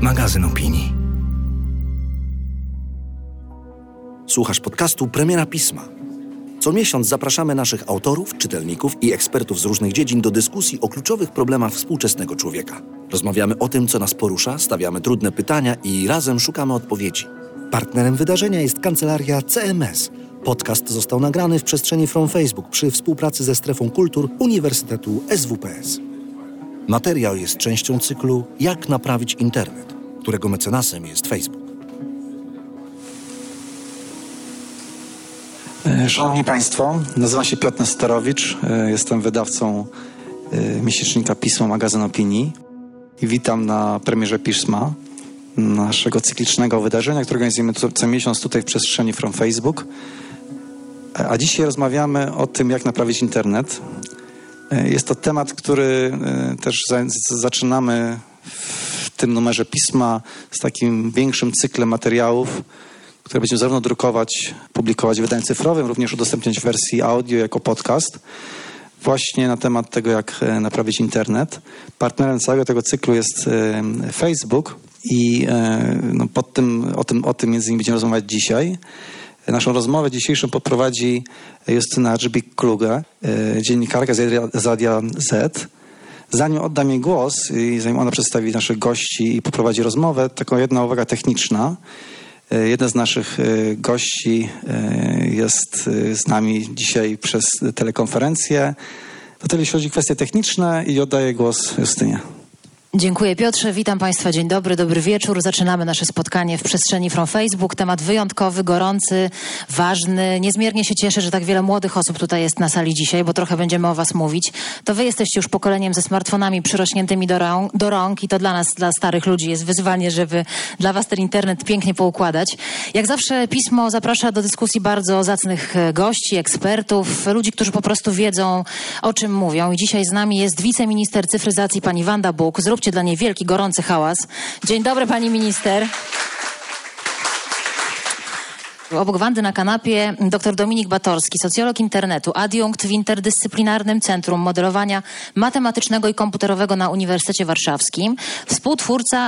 Magazyn opinii. Słuchasz podcastu Premiera Pisma. Co miesiąc zapraszamy naszych autorów, czytelników i ekspertów z różnych dziedzin do dyskusji o kluczowych problemach współczesnego człowieka. Rozmawiamy o tym, co nas porusza, stawiamy trudne pytania i razem szukamy odpowiedzi. Partnerem wydarzenia jest kancelaria CMS. Podcast został nagrany w przestrzeni From Facebook przy współpracy ze Strefą Kultur Uniwersytetu SWPS. Materiał jest częścią cyklu Jak naprawić internet, którego mecenasem jest Facebook. Szanowni Państwo, nazywam się Piotr Nestorowicz, jestem wydawcą miesięcznika Pismo, Magazyn Opinii i witam na premierze Pisma, naszego cyklicznego wydarzenia, które organizujemy co miesiąc tutaj w przestrzeni From Facebook. A dzisiaj rozmawiamy o tym, jak naprawić internet. Jest to temat, który też zaczynamy w tym numerze Pisma z takim większym cyklem materiałów, które będziemy zarówno drukować, publikować w wydaniu cyfrowym, również udostępniać w wersji audio jako podcast, właśnie na temat tego, jak naprawić internet. Partnerem całego tego cyklu jest Facebook i o tym między innymi będziemy rozmawiać dzisiaj. Naszą rozmowę dzisiejszą poprowadzi Justyna Dżbik-Kluge, dziennikarka z Radia Z. Zanim oddam jej głos i zanim ona przedstawi naszych gości i poprowadzi rozmowę, taką jedna uwaga techniczna. Jeden z naszych gości jest z nami dzisiaj przez telekonferencję. To tyle, jeśli chodzi o kwestie techniczne i oddaję głos Justynie. Dziękuję Piotrze, witam Państwa, dzień dobry, dobry wieczór. Zaczynamy nasze spotkanie w przestrzeni From Facebook. Temat wyjątkowy, gorący, ważny. Niezmiernie się cieszę, że tak wiele młodych osób tutaj jest na sali dzisiaj, bo trochę będziemy o Was mówić. To Wy jesteście już pokoleniem ze smartfonami przyrośniętymi do rąk i to dla nas, dla starych ludzi jest wyzwanie, żeby dla Was ten internet pięknie poukładać. Jak zawsze Pismo zaprasza do dyskusji bardzo zacnych gości, ekspertów, ludzi, którzy po prostu wiedzą, o czym mówią. I dzisiaj z nami jest wiceminister cyfryzacji pani Wanda Buk. Zróbcie dla niej wielki, gorący hałas. Dzień dobry, pani minister. Obok Wandy na kanapie dr Dominik Batorski, socjolog internetu, adiunkt w Interdyscyplinarnym Centrum Modelowania Matematycznego i Komputerowego na Uniwersytecie Warszawskim, współtwórca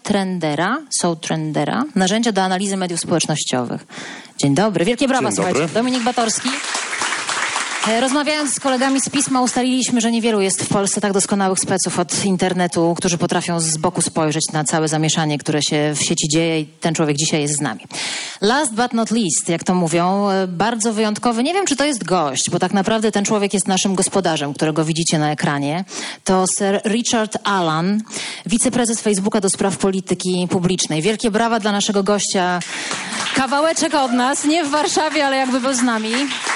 Soutrendera, narzędzia do analizy mediów społecznościowych. Dzień dobry. Wielkie brawa, słuchajcie. Dominik Batorski. Rozmawiając z kolegami z Pisma ustaliliśmy, że niewielu jest w Polsce tak doskonałych speców od internetu, którzy potrafią z boku spojrzeć na całe zamieszanie, które się w sieci dzieje i ten człowiek dzisiaj jest z nami. Last but not least, jak to mówią, bardzo wyjątkowy, nie wiem czy to jest gość, bo tak naprawdę ten człowiek jest naszym gospodarzem, którego widzicie na ekranie. To Sir Richard Allan, wiceprezes Facebooka do spraw polityki publicznej. Wielkie brawa dla naszego gościa. Kawałeczek od nas, nie w Warszawie, ale jakby był z nami.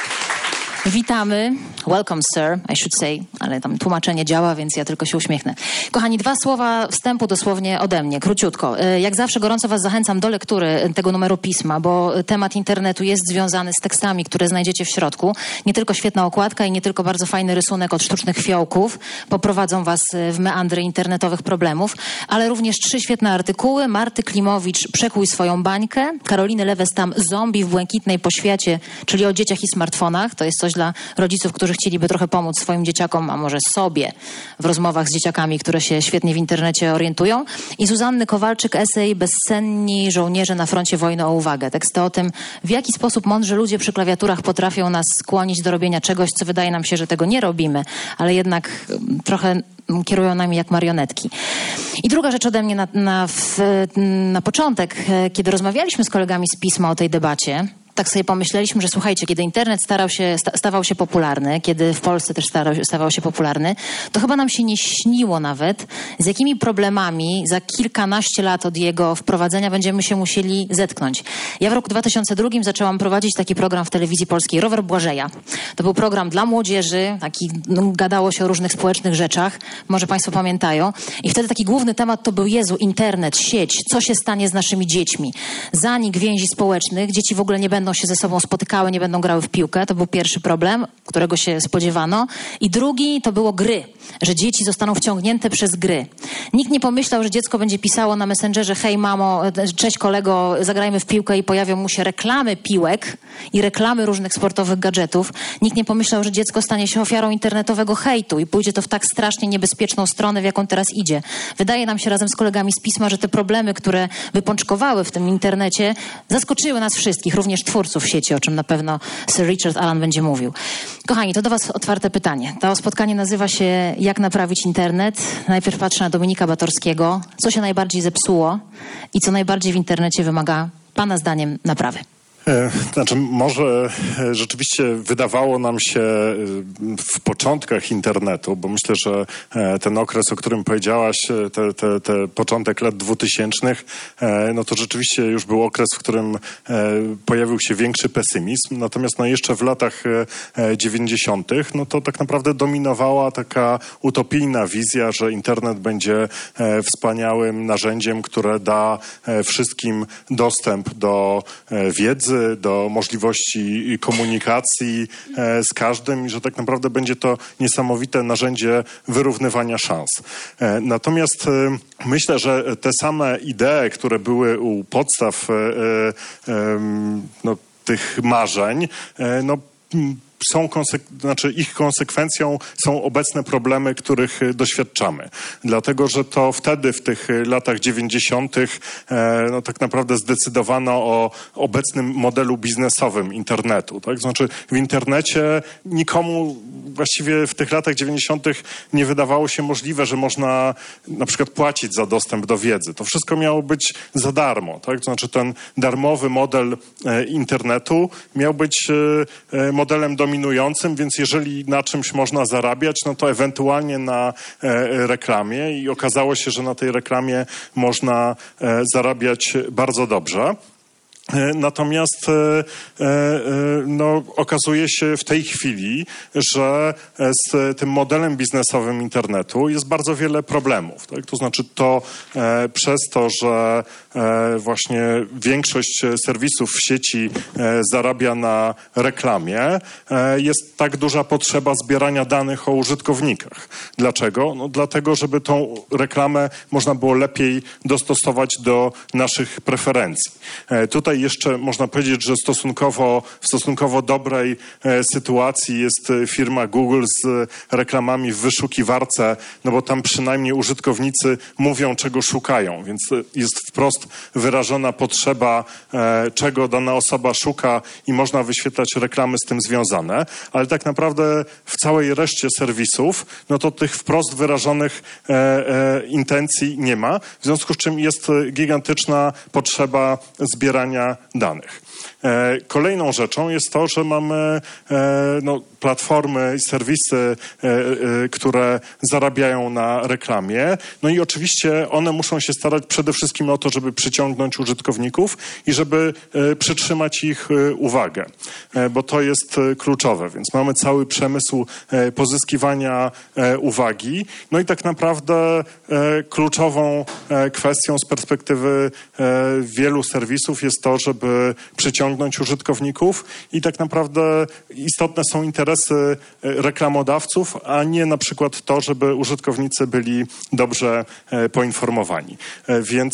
Witamy. Welcome, sir, I should say. Ale tam tłumaczenie działa, więc ja tylko się uśmiechnę. Kochani, 2 słowa wstępu dosłownie ode mnie, króciutko. Jak zawsze gorąco was zachęcam do lektury tego numeru Pisma, bo temat internetu jest związany z tekstami, które znajdziecie w środku. Nie tylko świetna okładka i nie tylko bardzo fajny rysunek od sztucznych fiołków poprowadzą was w meandry internetowych problemów, ale również 3 świetne artykuły. Marty Klimowicz, Przekuj swoją bańkę. Karoliny Lewestam, Zombie w błękitnej poświacie, czyli o dzieciach i smartfonach. To jest coś dla rodziców, którzy chcieliby trochę pomóc swoim dzieciakom, a może sobie w rozmowach z dzieciakami, które się świetnie w internecie orientują. I Zuzanny Kowalczyk, esej Bezsenni żołnierze na froncie wojny o uwagę. Teksty o tym, w jaki sposób mądrzy ludzie przy klawiaturach potrafią nas skłonić do robienia czegoś, co wydaje nam się, że tego nie robimy, ale jednak trochę kierują nami jak marionetki. I druga rzecz ode mnie na początek, kiedy rozmawialiśmy z kolegami z Pisma o tej debacie, tak sobie pomyśleliśmy, że słuchajcie, kiedy internet stawał się popularny, kiedy w Polsce też stawał się popularny, to chyba nam się nie śniło nawet, z jakimi problemami za kilkanaście lat od jego wprowadzenia będziemy się musieli zetknąć. Ja w roku 2002 zaczęłam prowadzić taki program w telewizji polskiej, Rower Błażeja. To był program dla młodzieży, gadało się o różnych społecznych rzeczach, może Państwo pamiętają. I wtedy taki główny temat to był internet, sieć, co się stanie z naszymi dziećmi. Zanik więzi społecznych, dzieci w ogóle nie będą będą się ze sobą spotykały, nie będą grały w piłkę. To był pierwszy problem, którego się spodziewano. I drugi to było gry, że dzieci zostaną wciągnięte przez gry. Nikt nie pomyślał, że dziecko będzie pisało na Messengerze: hej mamo, cześć kolego, zagrajmy w piłkę, i pojawią mu się reklamy piłek i reklamy różnych sportowych gadżetów. Nikt nie pomyślał, że dziecko stanie się ofiarą internetowego hejtu i pójdzie to w tak strasznie niebezpieczną stronę, w jaką teraz idzie. Wydaje nam się razem z kolegami z Pisma, że te problemy, które wypączkowały w tym internecie, zaskoczyły nas wszystkich, również twórców sieci, o czym na pewno Sir Richard Allan będzie mówił. Kochani, to do was otwarte pytanie. To spotkanie nazywa się Jak naprawić internet. Najpierw patrzę na Dominika Batorskiego. Co się najbardziej zepsuło i co najbardziej w internecie wymaga pana zdaniem naprawy? Znaczy, może rzeczywiście wydawało nam się w początkach internetu, bo myślę, że ten okres, o którym powiedziałaś, te początek lat 2000, no to rzeczywiście już był okres, w którym pojawił się większy pesymizm. Natomiast no jeszcze w latach 90. no to tak naprawdę dominowała taka utopijna wizja, że internet będzie wspaniałym narzędziem, które da wszystkim dostęp do wiedzy, do możliwości komunikacji z każdym i że tak naprawdę będzie to niesamowite narzędzie wyrównywania szans. Natomiast myślę, że te same idee, które były u podstaw tych marzeń, ich konsekwencją są obecne problemy, których doświadczamy. Dlatego, że to wtedy, w tych latach 90. Tak naprawdę zdecydowano o obecnym modelu biznesowym internetu. Tak? Znaczy w internecie nikomu właściwie w tych latach 90. nie wydawało się możliwe, że można na przykład płacić za dostęp do wiedzy. To wszystko miało być za darmo. Tak? To znaczy ten darmowy model internetu miał być modelem dominującym, więc jeżeli na czymś można zarabiać, no to ewentualnie na reklamie i okazało się, że na tej reklamie można zarabiać bardzo dobrze. Natomiast okazuje się w tej chwili, że z tym modelem biznesowym internetu jest bardzo wiele problemów. Tak? To znaczy to przez to, że właśnie większość serwisów w sieci zarabia na reklamie, jest tak duża potrzeba zbierania danych o użytkownikach. Dlaczego? No, dlatego, żeby tą reklamę można było lepiej dostosować do naszych preferencji. Tutaj jeszcze można powiedzieć, że w stosunkowo dobrej sytuacji jest firma Google z reklamami w wyszukiwarce, no bo tam przynajmniej użytkownicy mówią, czego szukają, więc jest wprost wyrażona potrzeba, czego dana osoba szuka i można wyświetlać reklamy z tym związane, ale tak naprawdę w całej reszcie serwisów, no to tych wprost wyrażonych intencji nie ma, w związku z czym jest gigantyczna potrzeba zbierania danych. Kolejną rzeczą jest to, że mamy platformy i serwisy, które zarabiają na reklamie. No i oczywiście one muszą się starać przede wszystkim o to, żeby przyciągnąć użytkowników i żeby przytrzymać ich uwagę, bo to jest kluczowe. Więc mamy cały przemysł pozyskiwania uwagi. No i tak naprawdę kluczową kwestią z perspektywy wielu serwisów jest to, żeby przyciągnąć użytkowników i tak naprawdę istotne są interesy reklamodawców, a nie na przykład to, żeby użytkownicy byli dobrze poinformowani. Więc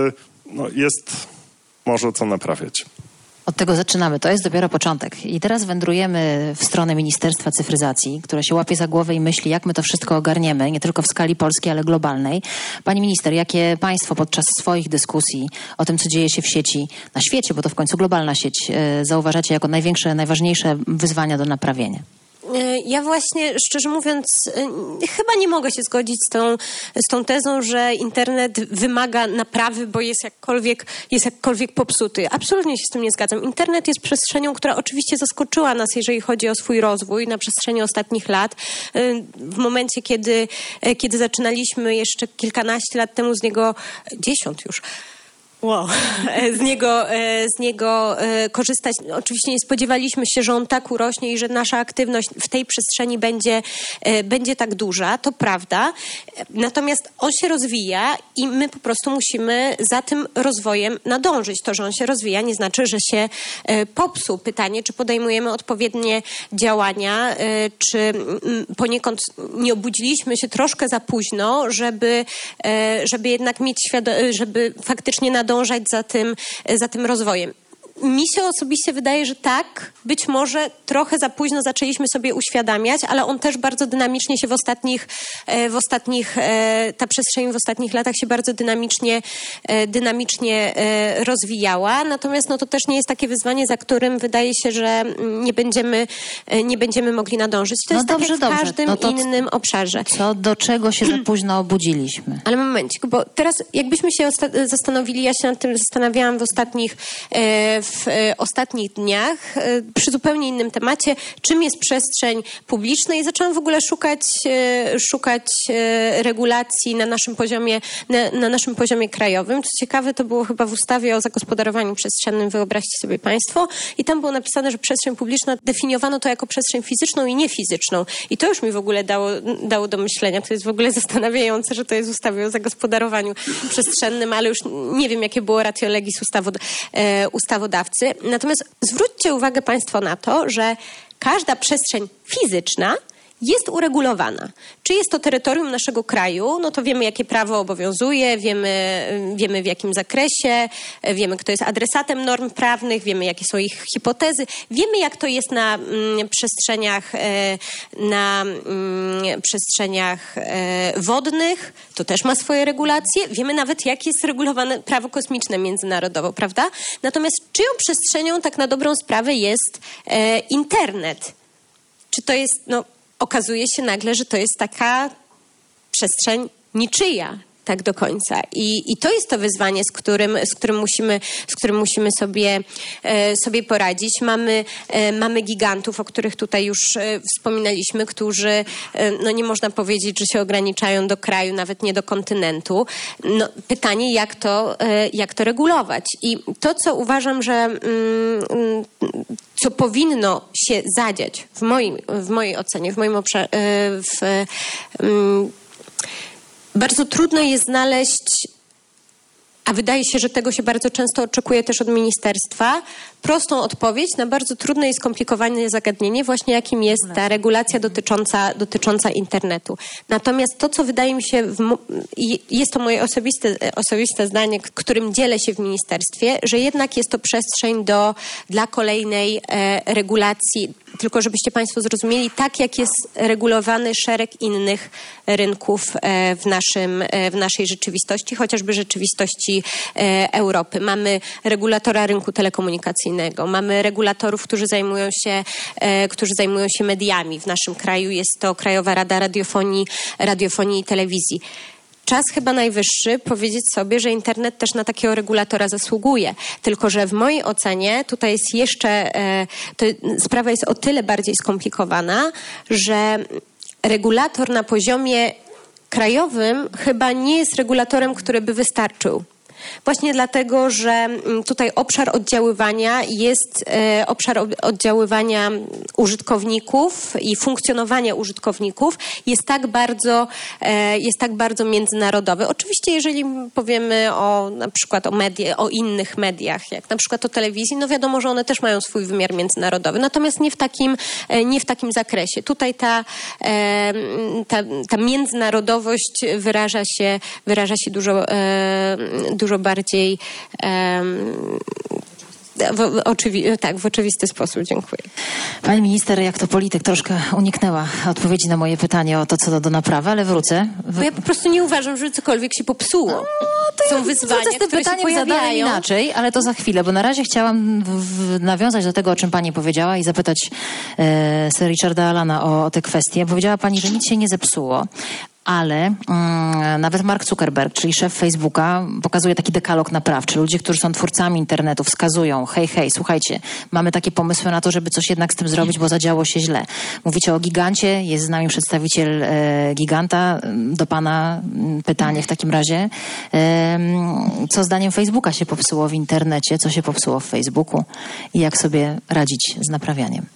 jest może co naprawiać. Od tego zaczynamy. To jest dopiero początek. I teraz wędrujemy w stronę Ministerstwa Cyfryzacji, które się łapie za głowę i myśli, jak my to wszystko ogarniemy, nie tylko w skali polskiej, ale globalnej. Pani minister, jakie państwo podczas swoich dyskusji o tym, co dzieje się w sieci, na świecie, bo to w końcu globalna sieć, zauważacie jako największe, najważniejsze wyzwania do naprawienia? Ja właśnie, szczerze mówiąc, chyba nie mogę się zgodzić z tą tezą, że internet wymaga naprawy, bo jest jakkolwiek popsuty. Absolutnie się z tym nie zgadzam. Internet jest przestrzenią, która oczywiście zaskoczyła nas, jeżeli chodzi o swój rozwój na przestrzeni ostatnich lat. W momencie, kiedy zaczynaliśmy jeszcze kilkanaście lat temu z niego, 10 już, z niego korzystać. Oczywiście nie spodziewaliśmy się, że on tak urośnie i że nasza aktywność w tej przestrzeni będzie tak duża, to prawda. Natomiast on się rozwija i my po prostu musimy za tym rozwojem nadążyć. To, że on się rozwija, nie znaczy, że się popsuł. Pytanie, czy podejmujemy odpowiednie działania, czy poniekąd nie obudziliśmy się troszkę za późno, żeby jednak mieć żeby faktycznie nadążać za tym rozwojem. Mi się osobiście wydaje, że tak, być może trochę za późno zaczęliśmy sobie uświadamiać, ale on też bardzo dynamicznie się ta przestrzeń w ostatnich latach się bardzo dynamicznie rozwijała. Natomiast to też nie jest takie wyzwanie, za którym wydaje się, że nie będziemy mogli nadążyć. To jest tak jak w każdym innym obszarze. Do czego się za późno obudziliśmy? Ale momencik, bo teraz jakbyśmy się zastanowili, ja się nad tym zastanawiałam w ostatnich dniach przy zupełnie innym temacie, czym jest przestrzeń publiczna i zaczęłam w ogóle szukać regulacji na naszym poziomie krajowym. Co ciekawe, to było chyba w ustawie o zagospodarowaniu przestrzennym, wyobraźcie sobie Państwo, i tam było napisane, że przestrzeń publiczna definiowano to jako przestrzeń fizyczną i niefizyczną. I to już mi w ogóle dało do myślenia. To jest w ogóle zastanawiające, że to jest w ustawie o zagospodarowaniu przestrzennym, ale już nie wiem, jakie było ratio legis ustawodawcy. Natomiast zwróćcie uwagę Państwo na to, że każda przestrzeń fizyczna jest uregulowana. Czy jest to terytorium naszego kraju, no to wiemy, jakie prawo obowiązuje, wiemy w jakim zakresie, wiemy, kto jest adresatem norm prawnych, wiemy, jakie są ich hipotezy, wiemy, jak to jest na przestrzeniach wodnych, to też ma swoje regulacje, wiemy nawet, jak jest regulowane prawo kosmiczne międzynarodowo, prawda? Natomiast czyją przestrzenią tak na dobrą sprawę jest internet? Czy to jest, okazuje się nagle, że to jest taka przestrzeń niczyja tak do końca. I to jest to wyzwanie, z którym musimy sobie poradzić. Mamy gigantów, o których tutaj już wspominaliśmy, którzy, nie można powiedzieć, że się ograniczają do kraju, nawet nie do kontynentu. Pytanie, jak to regulować? I to, co uważam, że co powinno się zadziać w mojej ocenie, w moim obszarze, bardzo trudno jest znaleźć, a wydaje się, że tego się bardzo często oczekuje też od ministerstwa, prostą odpowiedź na bardzo trudne i skomplikowane zagadnienie, właśnie jakim jest ta regulacja dotycząca internetu. Natomiast to, co wydaje mi się, jest to moje osobiste zdanie, którym dzielę się w ministerstwie, że jednak jest to przestrzeń dla kolejnej regulacji, tylko żebyście Państwo zrozumieli, tak jak jest regulowany szereg innych rynków w naszej rzeczywistości, chociażby rzeczywistości Europy. Mamy regulatora rynku telekomunikacyjnego, mamy regulatorów, którzy zajmują się mediami. W naszym kraju jest to Krajowa Rada Radiofonii i Telewizji. Czas chyba najwyższy powiedzieć sobie, że internet też na takiego regulatora zasługuje. Tylko że w mojej ocenie tutaj jest jeszcze, sprawa jest o tyle bardziej skomplikowana, że regulator na poziomie krajowym chyba nie jest regulatorem, który by wystarczył. Właśnie dlatego, że tutaj obszar oddziaływania użytkowników i funkcjonowania użytkowników jest tak bardzo międzynarodowy. Oczywiście, jeżeli powiemy na przykład o innych mediach, jak na przykład o telewizji, wiadomo, że one też mają swój wymiar międzynarodowy, natomiast nie w takim zakresie. Tutaj ta międzynarodowość wyraża się dużo bardziej w oczywisty sposób. Dziękuję. Pani minister, jak to polityk, troszkę uniknęła odpowiedzi na moje pytanie o to, co do naprawy, ale wrócę. Bo ja po prostu nie uważam, że cokolwiek się popsuło. Są wyzwania, z tym które pytaniem się pojawiają. inaczej, ale to za chwilę, bo na razie chciałam nawiązać do tego, o czym pani powiedziała i zapytać Sir Richarda Allana o te kwestie. Powiedziała pani, że nic się nie zepsuło. ale nawet Mark Zuckerberg, czyli szef Facebooka, pokazuje taki dekalog naprawczy. Ludzie, którzy są twórcami internetu, wskazują, hej, słuchajcie, mamy takie pomysły na to, żeby coś jednak z tym zrobić, bo zadziało się źle. Mówicie o gigancie, jest z nami przedstawiciel giganta. Do pana pytanie w takim razie. Co zdaniem Facebooka się popsuło w internecie, co się popsuło w Facebooku i jak sobie radzić z naprawianiem?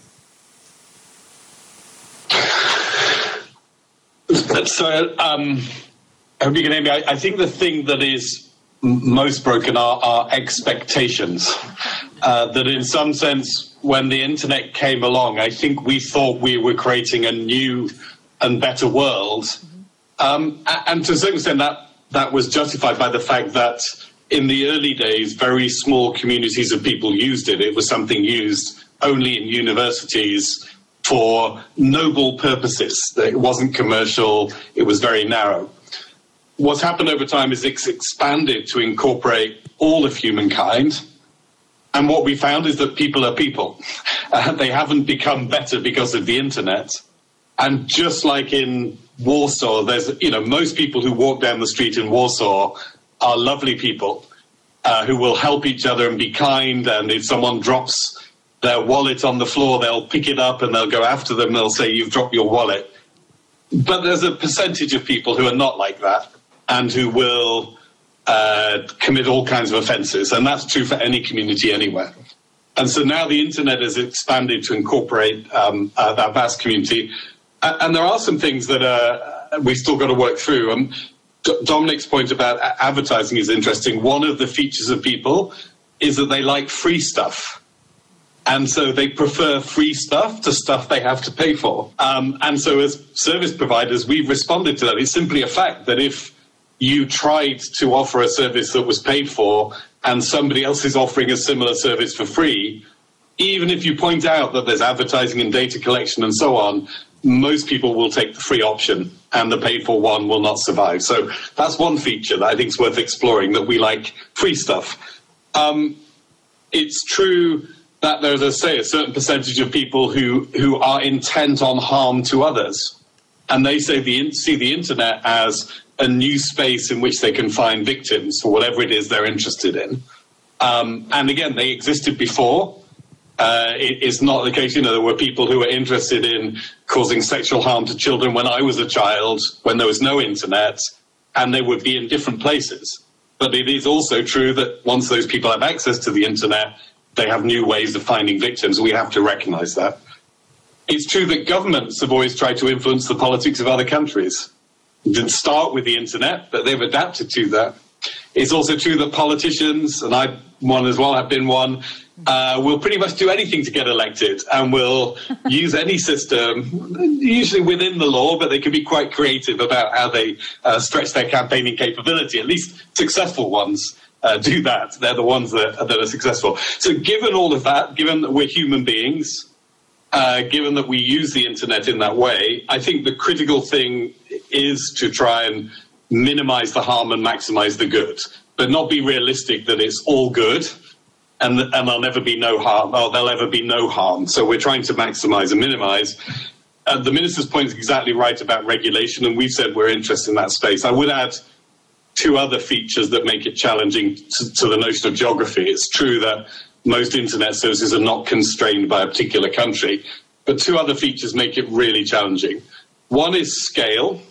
So, I hope you can hear me. I think the thing that is most broken are expectations. That in some sense, when the internet came along, I think we thought we were creating a new and better world. And to a certain extent, that was justified by the fact that in the early days, very small communities of people used it. It was something used only in universities for noble purposes. It wasn't commercial. It was very narrow. What's happened over time is it's expanded to incorporate all of humankind. And what we found is that people are people. They haven't become better because of the internet. And just like in Warsaw, there's, most people who walk down the street in Warsaw are lovely people who will help each other and be kind. And if someone drops their wallet on the floor, they'll pick it up and they'll go after them. They'll say, you've dropped your wallet. But there's a percentage of people who are not like that and who will commit all kinds of offences. And that's true for any community anywhere. And so now the internet has expanded to incorporate that vast community. And there are some things that we've still got to work through. Dominic's point about advertising is interesting. One of the features of people is that they like free stuff. And so they prefer free stuff to stuff they have to pay for. And so as service providers, we've responded to that. It's simply a fact that if you tried to offer a service that was paid for and somebody else is offering a similar service for free, even if you point out that there's advertising and data collection and so on, most people will take the free option and the paid for one will not survive. So that's one feature that I think is worth exploring, that we like free stuff. It's true that there's, a certain percentage of people who are intent on harm to others. And they say see the internet as a new space in which they can find victims for whatever it is they're interested in. And again, they existed before. It's not the case, there were people who were interested in causing sexual harm to children when I was a child, when there was no internet, and they would be in different places. But it is also true that once those people have access to the internet, they have new ways of finding victims. We have to recognize that. It's true that governments have always tried to influence the politics of other countries. It didn't start with the internet, but they've adapted to that. It's also true that politicians, and I one as well, have been one, will pretty much do anything to get elected and will use any system, usually within the law, but they can be quite creative about how they stretch their campaigning capability. At least successful ones do that. They're the ones that are successful. So given all of that, given that we're human beings, given that we use the internet in that way, I think the critical thing is to try and minimize the harm and maximize the good, but not be realistic that it's all good and there'll never be no harm. Oh, there'll ever be no harm. So we're trying to maximize and minimize. The minister's point is exactly right about regulation, and we've said we're interested in that space. I would add two other features that make it challenging to the notion of geography. It's true that most internet services are not constrained by a particular country, but two other features make it really challenging. One is scale.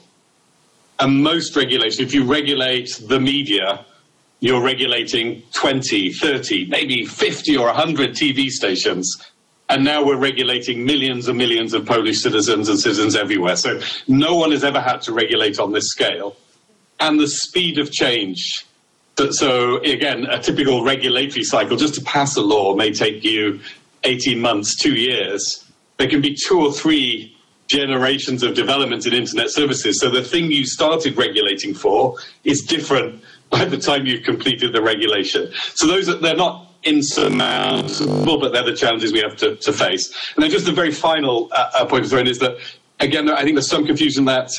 And most regulation, if you regulate the media, you're regulating 20, 30, maybe 50 or 100 TV stations. And now we're regulating millions and millions of Polish citizens and citizens everywhere. So no one has ever had to regulate on this scale. And the speed of change. So again, a typical regulatory cycle, just to pass a law may take you 18 months, 2 years. There can be 2 or 3 generations of development in internet services. So the thing you started regulating for is different by the time you've completed the regulation. So they're not insurmountable, but they're the challenges we have to face. And then just the very final point to throw in is that, again, I think there's some confusion that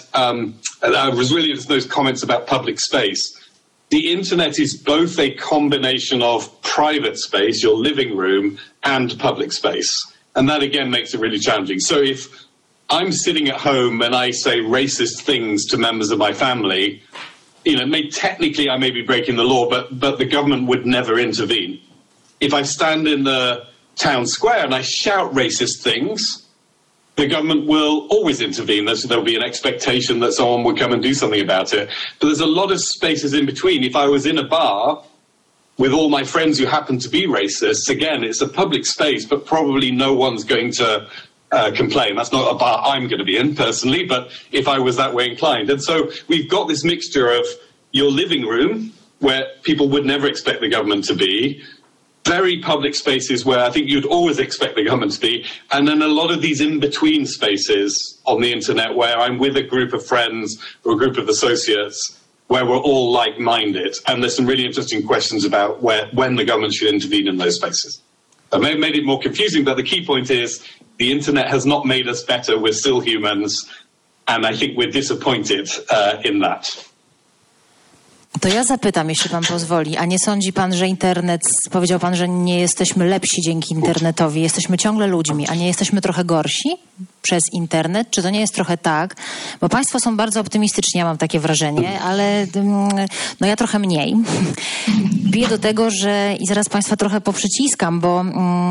I was really into those comments about public space. The internet is both a combination of private space, your living room, and public space. And that, again, makes it really challenging. So if I'm sitting at home and I say racist things to members of my family, technically I may be breaking the law, but the government would never intervene. If I stand in the town square and I shout racist things, the government will always intervene. There'll be an expectation that someone would come and do something about it. But there's a lot of spaces in between. If I was in a bar with all my friends who happen to be racists, again, it's a public space, but probably no one's going to complain. That's not a bar I'm going to be in personally, but if I was that way inclined. And so we've got this mixture of your living room, where people would never expect the government to be, very public spaces where I think you'd always expect the government to be, and then a lot of these in-between spaces on the internet where I'm with a group of friends or a group of associates where we're all like-minded. And there's some really interesting questions about when the government should intervene in those spaces. I may have made it more confusing, but the key point is the internet has not made us better. We're still humans, and I think we're disappointed in that. To ja zapytam, jeśli pan pozwoli, a nie sądzi pan, że internet, powiedział pan, że nie jesteśmy lepsi dzięki internetowi, jesteśmy ciągle ludźmi, a nie jesteśmy trochę gorsi przez internet? Czy to nie jest trochę tak? Bo państwo są bardzo optymistyczni, ja mam takie wrażenie, ale ja trochę mniej. Biję do tego, że i zaraz państwa trochę poprzyciskam, bo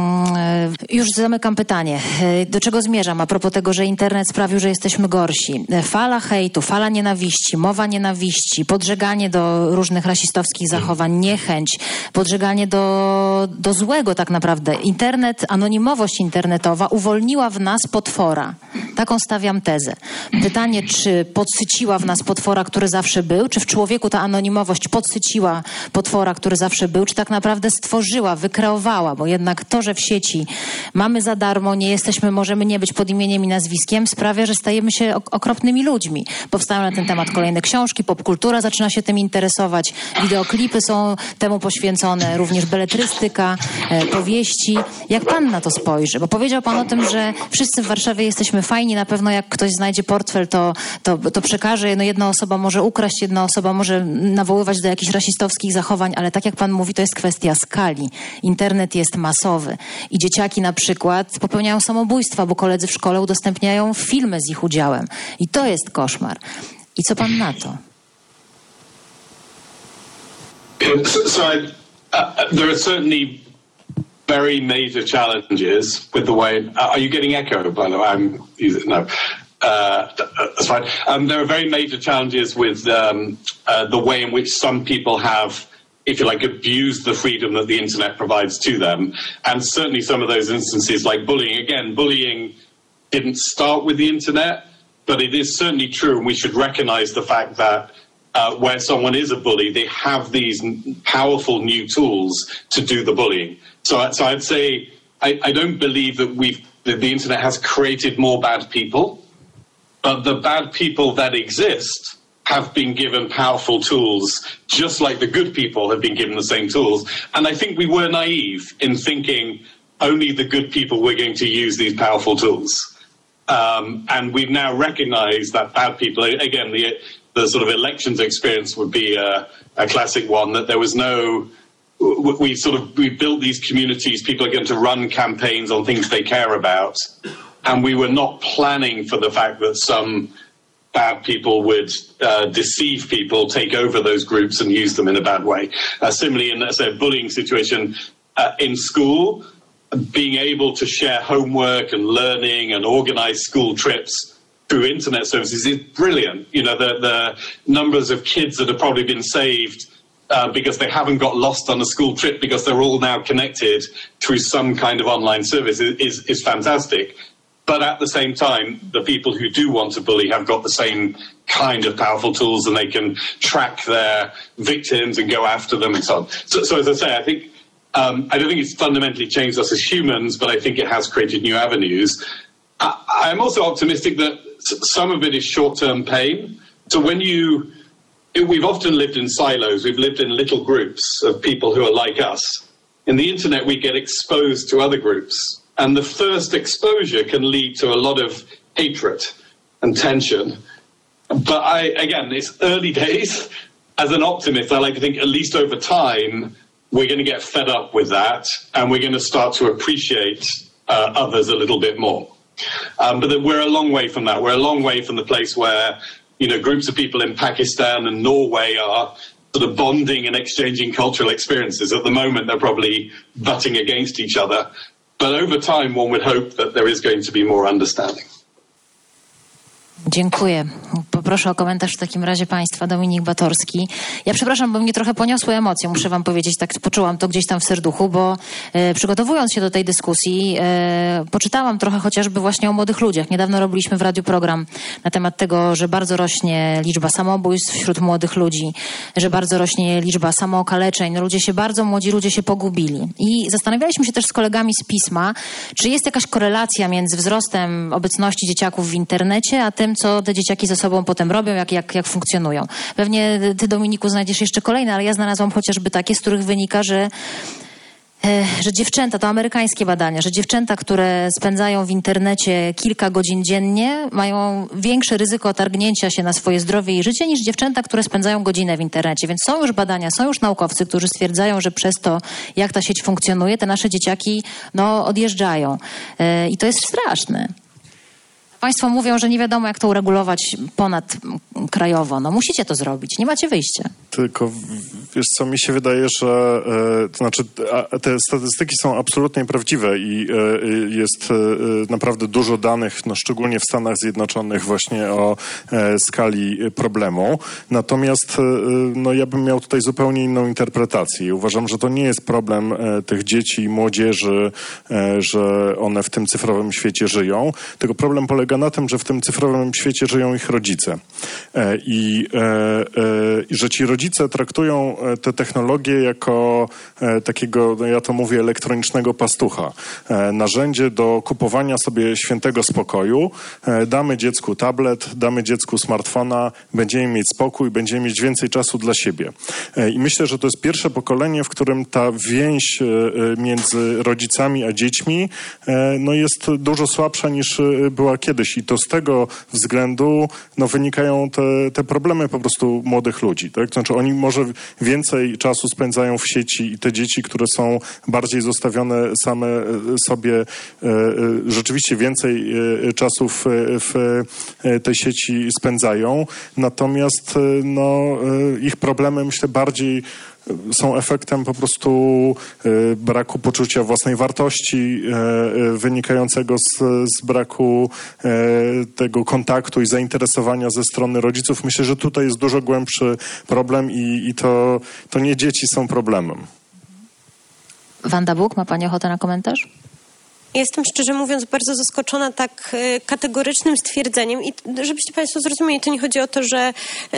już zamykam pytanie. Do czego zmierzam a propos tego, że internet sprawił, że jesteśmy gorsi? Fala hejtu, fala nienawiści, mowa nienawiści, podżeganie do różnych rasistowskich zachowań, niechęć, podżeganie do złego tak naprawdę. Internet, anonimowość internetowa uwolniła w nas potwora. Taką stawiam tezę. Pytanie, czy podsyciła w nas potwora, który zawsze był, czy w człowieku ta anonimowość podsyciła potwora, który zawsze był, czy tak naprawdę stworzyła, wykreowała, bo jednak to, że w sieci mamy za darmo, możemy nie być pod imieniem i nazwiskiem, sprawia, że stajemy się okropnymi ludźmi. Powstają na ten temat kolejne książki, popkultura zaczyna się tym interesować, wideoklipy są temu poświęcone, również beletrystyka, powieści. Jak pan na to spojrzy? Bo powiedział pan o tym, że wszyscy w Warszawie jesteśmy fajni, na pewno jak ktoś znajdzie portfel, to przekaże, jedna osoba może ukraść, jedna osoba może nawoływać do jakichś rasistowskich zachowań, ale tak jak pan mówi, to jest kwestia skali. Internet jest masowy i dzieciaki na przykład popełniają samobójstwa, bo koledzy w szkole udostępniają filmy z ich udziałem. I to jest koszmar. I co pan na to? There are certainly very major challenges with the way. Are you getting echo? By the way, no. That's fine. There are very major challenges with the way in which some people have, if you like, abused the freedom that the internet provides to them, and certainly some of those instances, like bullying. Again, bullying didn't start with the internet, but it is certainly true, and we should recognise the fact that. Where someone is a bully, they have these powerful new tools to do the bullying. So I'd say I don't believe that the internet has created more bad people, but the bad people that exist have been given powerful tools, just like the good people have been given the same tools. And I think we were naive in thinking only the good people were going to use these powerful tools. And we've now recognized that bad people, again, the sort of elections experience would be a classic one, that there was we built these communities, people are going to run campaigns on things they care about, and we were not planning for the fact that some bad people would deceive people, take over those groups and use them in a bad way. Similarly, in a bullying situation in school, being able to share homework and learning and organize school trips through internet services is brilliant. The numbers of kids that have probably been saved because they haven't got lost on a school trip because they're all now connected through some kind of online service is fantastic. But at the same time, the people who do want to bully have got the same kind of powerful tools, and they can track their victims and go after them and so on. So as I say, I think I don't think it's fundamentally changed us as humans, but I think it has created new avenues. I'm also optimistic that some of it is short-term pain. So we've often lived in silos. We've lived in little groups of people who are like us. In the internet, we get exposed to other groups. And the first exposure can lead to a lot of hatred and tension. But again, it's early days. As an optimist, I like to think at least over time, we're going to get fed up with that, and we're going to start to appreciate others a little bit more. But that we're a long way from that. We're a long way from the place where, groups of people in Pakistan and Norway are sort of bonding and exchanging cultural experiences. At the moment, they're probably butting against each other. But over time, one would hope that there is going to be more understanding. Dziękuję. Poproszę o komentarz w takim razie państwa. Dominik Batorski. Ja przepraszam, bo mnie trochę poniosły emocje, muszę wam powiedzieć, tak poczułam to gdzieś tam w serduchu, bo przygotowując się do tej dyskusji, poczytałam trochę chociażby właśnie o młodych ludziach. Niedawno robiliśmy w radiu program na temat tego, że bardzo rośnie liczba samobójstw wśród młodych ludzi, że bardzo rośnie liczba samookaleczeń. Młodzi ludzie się pogubili. I zastanawialiśmy się też z kolegami z Pisma, czy jest jakaś korelacja między wzrostem obecności dzieciaków w internecie, a tym, co te dzieciaki ze sobą potem robią, jak funkcjonują. Pewnie ty, Dominiku, znajdziesz jeszcze kolejne, ale ja znalazłam chociażby takie, z których wynika, że dziewczęta, to amerykańskie badania, że dziewczęta, które spędzają w internecie kilka godzin dziennie, mają większe ryzyko otargnięcia się na swoje zdrowie i życie niż dziewczęta, które spędzają godzinę w internecie. Więc są już badania, są już naukowcy, którzy stwierdzają, że przez to, jak ta sieć funkcjonuje, te nasze dzieciaki odjeżdżają. I to jest straszne. Państwo mówią, że nie wiadomo, jak to uregulować ponadkrajowo. Musicie to zrobić, nie macie wyjścia. Tylko, wiesz co, mi się wydaje, że te statystyki są absolutnie prawdziwe i jest naprawdę dużo danych, szczególnie w Stanach Zjednoczonych właśnie o skali problemu. Natomiast ja bym miał tutaj zupełnie inną interpretację. Uważam, że to nie jest problem tych dzieci i młodzieży, że one w tym cyfrowym świecie żyją, tylko problem polega na tym, że w tym cyfrowym świecie żyją ich rodzice. I że ci rodzice traktują te technologie jako takiego, ja to mówię, elektronicznego pastucha. Narzędzie do kupowania sobie świętego spokoju. Damy dziecku tablet, damy dziecku smartfona, będziemy mieć spokój, będziemy mieć więcej czasu dla siebie. I myślę, że to jest pierwsze pokolenie, w którym ta więź między rodzicami a dziećmi jest dużo słabsza niż była kiedyś. I to z tego względu wynikają te problemy po prostu młodych ludzi. Tak? Znaczy oni może więcej czasu spędzają w sieci i te dzieci, które są bardziej zostawione same sobie, rzeczywiście więcej czasu w tej sieci spędzają. Natomiast ich problemy, myślę, bardziej są efektem po prostu braku poczucia własnej wartości, wynikającego z braku tego kontaktu i zainteresowania ze strony rodziców. Myślę, że tutaj jest dużo głębszy problem i to nie dzieci są problemem. Wanda Buk, ma pani ochotę na komentarz? Jestem, szczerze mówiąc, bardzo zaskoczona tak kategorycznym stwierdzeniem i żebyście państwo zrozumieli, to nie chodzi o to, że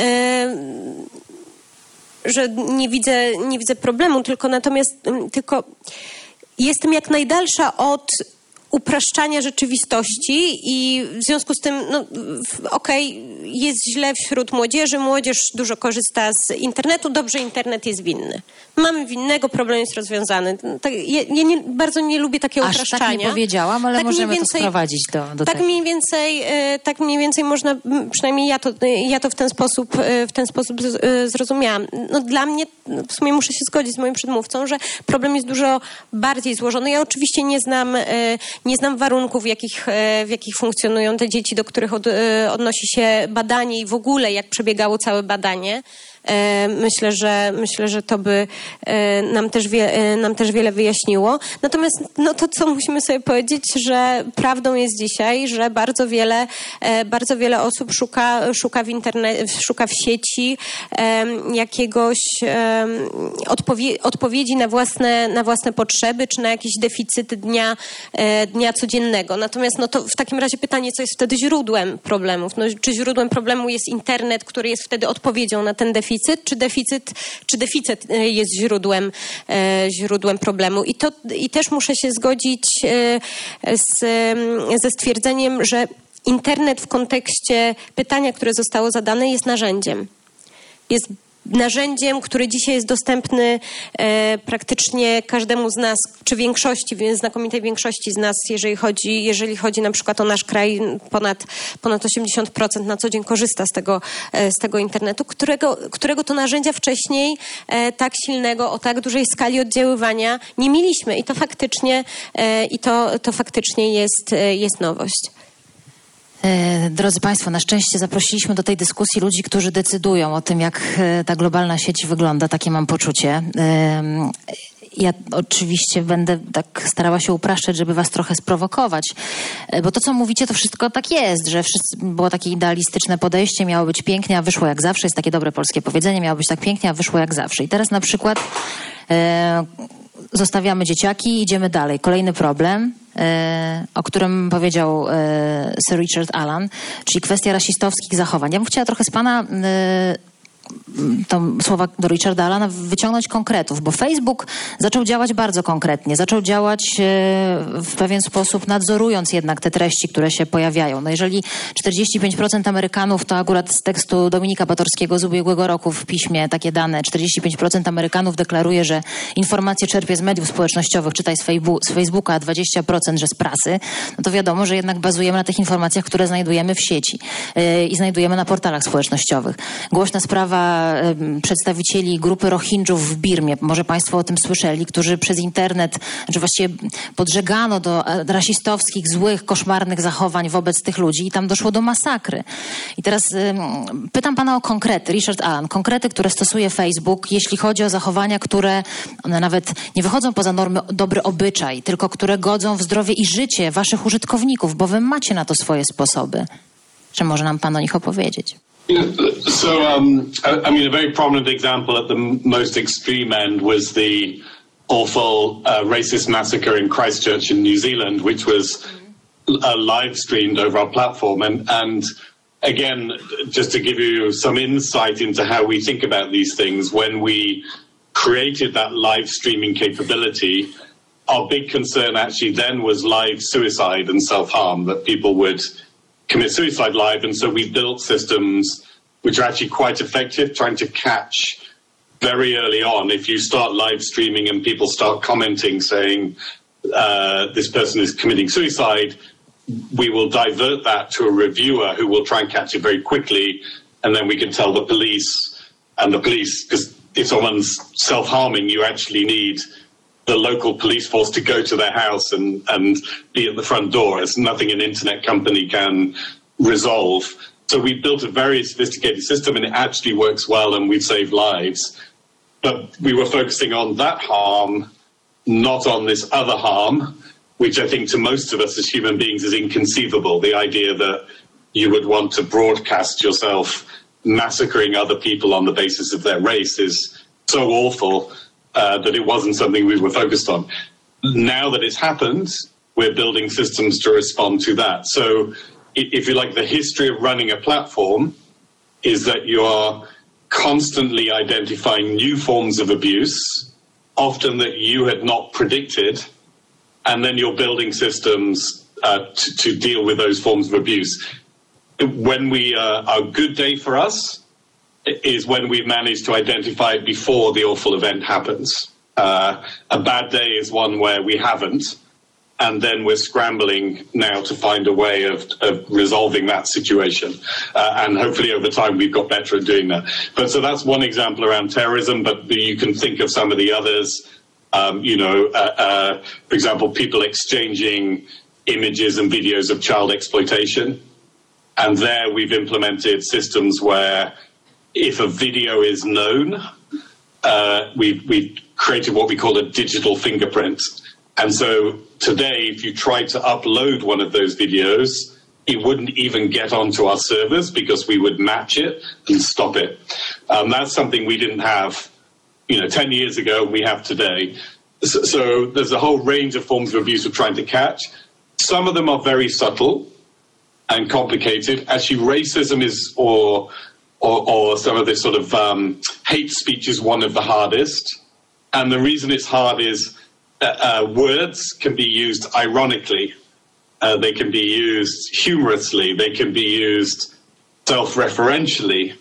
nie widzę problemu, tylko jestem jak najdalsza od upraszczania rzeczywistości i w związku z tym, jest źle wśród młodzieży, młodzież dużo korzysta z internetu, dobrze, internet jest winny. Mamy winnego, problem jest rozwiązany. Ja bardzo nie lubię takiego upraszczania. Aż tak nie powiedziałam, ale tak możemy to sprowadzić do tak tego. Tak mniej więcej można, przynajmniej ja to w ten sposób zrozumiałam. Dla mnie, w sumie muszę się zgodzić z moim przedmówcą, że problem jest dużo bardziej złożony. Ja oczywiście nie znam warunków, w jakich funkcjonują te dzieci, do których odnosi się badanie i w ogóle jak przebiegało całe badanie. Myślę, że to by nam też wiele wyjaśniło. Natomiast to, co musimy sobie powiedzieć, że prawdą jest dzisiaj, że bardzo wiele osób szuka w internecie, szuka w sieci jakiegoś odpowiedzi na własne potrzeby, czy na jakieś deficyty dnia codziennego. Natomiast to w takim razie pytanie, co jest wtedy źródłem problemów? Czy źródłem problemu jest internet, który jest wtedy odpowiedzią na ten deficyt, czy deficyt jest źródłem problemu. I też muszę się zgodzić ze stwierdzeniem, że internet w kontekście pytania, które zostało zadane, jest narzędziem. Jest narzędziem, który dzisiaj jest dostępny praktycznie każdemu z nas, czy większości, znakomitej większości z nas, jeżeli chodzi na przykład o nasz kraj, ponad 80% na co dzień korzysta z tego internetu, którego to narzędzia wcześniej tak silnego, o tak dużej skali oddziaływania nie mieliśmy i to faktycznie jest nowość. Drodzy Państwo, na szczęście zaprosiliśmy do tej dyskusji ludzi, którzy decydują o tym, jak ta globalna sieć wygląda. Takie mam poczucie. Ja oczywiście będę tak starała się upraszczać, żeby was trochę sprowokować, bo to, co mówicie, to wszystko tak jest, że było takie idealistyczne podejście, miało być pięknie, a wyszło jak zawsze. Jest takie dobre polskie powiedzenie, miało być tak pięknie, a wyszło jak zawsze. I teraz na przykład zostawiamy dzieciaki, idziemy dalej. Kolejny problem, o którym powiedział Sir Richard Allan, czyli kwestia rasistowskich zachowań. Ja bym chciała trochę z pana to słowa do Richarda Allana wyciągnąć konkretów, bo Facebook zaczął działać bardzo konkretnie. Zaczął działać w pewien sposób, nadzorując jednak te treści, które się pojawiają. No jeżeli 45% Amerykanów, to akurat z tekstu Dominika Batorskiego z ubiegłego roku w piśmie takie dane, 45% Amerykanów deklaruje, że informacje czerpie z mediów społecznościowych, czytaj z Facebooka, a 20% że z prasy, no to wiadomo, że jednak bazujemy na tych informacjach, które znajdujemy w sieci i znajdujemy na portalach społecznościowych. Głośna sprawa przedstawicieli grupy Rohingjów w Birmie, może Państwo o tym słyszeli, którzy przez internet, znaczy właściwie podżegano do rasistowskich, złych, koszmarnych zachowań wobec tych ludzi i tam doszło do masakry. I teraz pytam Pana o konkrety, Richard Allan, konkrety, które stosuje Facebook, jeśli chodzi o zachowania, które one nawet nie wychodzą poza normy dobry obyczaj, tylko które godzą w zdrowie i życie Waszych użytkowników, bo Wy macie na to swoje sposoby. Czy może nam Pan o nich opowiedzieć? So, I mean, a very prominent example at the most extreme end was the awful racist massacre in Christchurch in New Zealand, which was live streamed over our platform. And again, just to give you some insight into how we think about these things, when we created that live streaming capability, our big concern actually then was live suicide and self-harm, that people would commit suicide live, and so we built systems which are actually quite effective, trying to catch very early on. If you start live streaming and people start commenting saying this person is committing suicide, we will divert that to a reviewer who will try and catch it very quickly, and then we can tell the police, because if someone's self-harming, you actually need the local police force to go to their house and be at the front door. It's nothing an internet company can resolve. So we built a very sophisticated system, and it actually works well, and we've saved lives. But we were focusing on that harm, not on this other harm, which I think to most of us as human beings is inconceivable. The idea that you would want to broadcast yourself massacring other people on the basis of their race is so awful that it wasn't something we were focused on. Now that it's happened, we're building systems to respond to that. So if you like, the history of running a platform is that you are constantly identifying new forms of abuse, often that you had not predicted, and then you're building systems to deal with those forms of abuse. When a good day for us is when we've managed to identify it before the awful event happens. A bad day is one where we haven't, and then we're scrambling now to find a way of resolving that situation. And hopefully over time we've got better at doing that. But so that's one example around terrorism, but you can think of some of the others. For example, people exchanging images and videos of child exploitation. And there we've implemented systems where if a video is known, we've created what we call a digital fingerprint. And so today, if you tried to upload one of those videos, it wouldn't even get onto our servers because we would match it and stop it. That's something we didn't have, 10 years ago, we have today. So there's a whole range of forms of abuse we're trying to catch. Some of them are very subtle and complicated. Actually, racism is, or some of this sort of hate speech is one of the hardest. And the reason it's hard is words can be used ironically. They can be used humorously. They can be used self-referentially.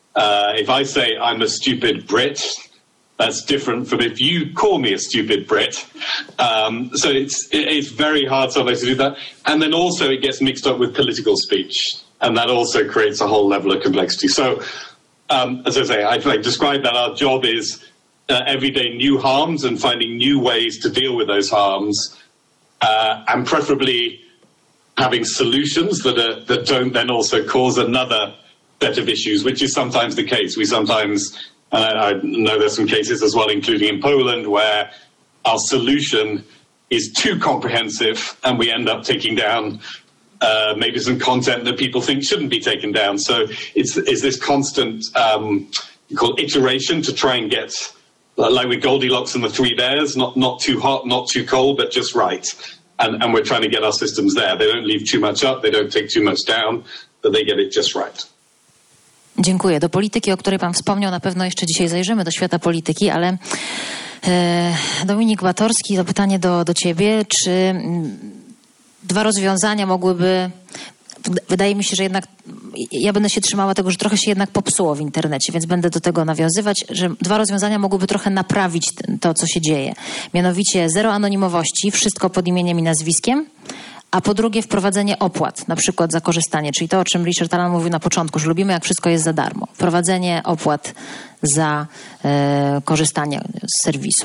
If I say I'm a stupid Brit, that's different from if you call me a stupid Brit. So it's very hard sometimes to do that. And then also it gets mixed up with political speech. And that also creates a whole level of complexity. So, as I say, I describe that our job is every day new harms and finding new ways to deal with those harms, and preferably having solutions that don't then also cause another set of issues, which is sometimes the case. We sometimes, I know there's some cases as well, including in Poland, where our solution is too comprehensive and we end up taking down maybe some content that people think shouldn't be taken down. So it's this constant iteration to try and get, like with Goldilocks and the Three Bears, not too hot, not too cold, but just right. And we're trying to get our systems there. They don't leave too much up, they don't take too much down, but they get it just right. Dziękuję. Do polityki, o której pan wspomniał, na pewno jeszcze dzisiaj zajrzymy, do świata polityki, ale Dominik Batorski, to pytanie do ciebie. Czy dwa rozwiązania mogłyby... Wydaje mi się, że jednak ja będę się trzymała tego, że trochę się jednak popsuło w internecie, więc będę do tego nawiązywać, że dwa rozwiązania mogłyby trochę naprawić to, co się dzieje. Mianowicie zero anonimowości, wszystko pod imieniem i nazwiskiem, a po drugie wprowadzenie opłat, na przykład za korzystanie, czyli to, o czym Richard Allan mówił na początku, że lubimy, jak wszystko jest za darmo. Wprowadzenie opłat za korzystanie z serwisu.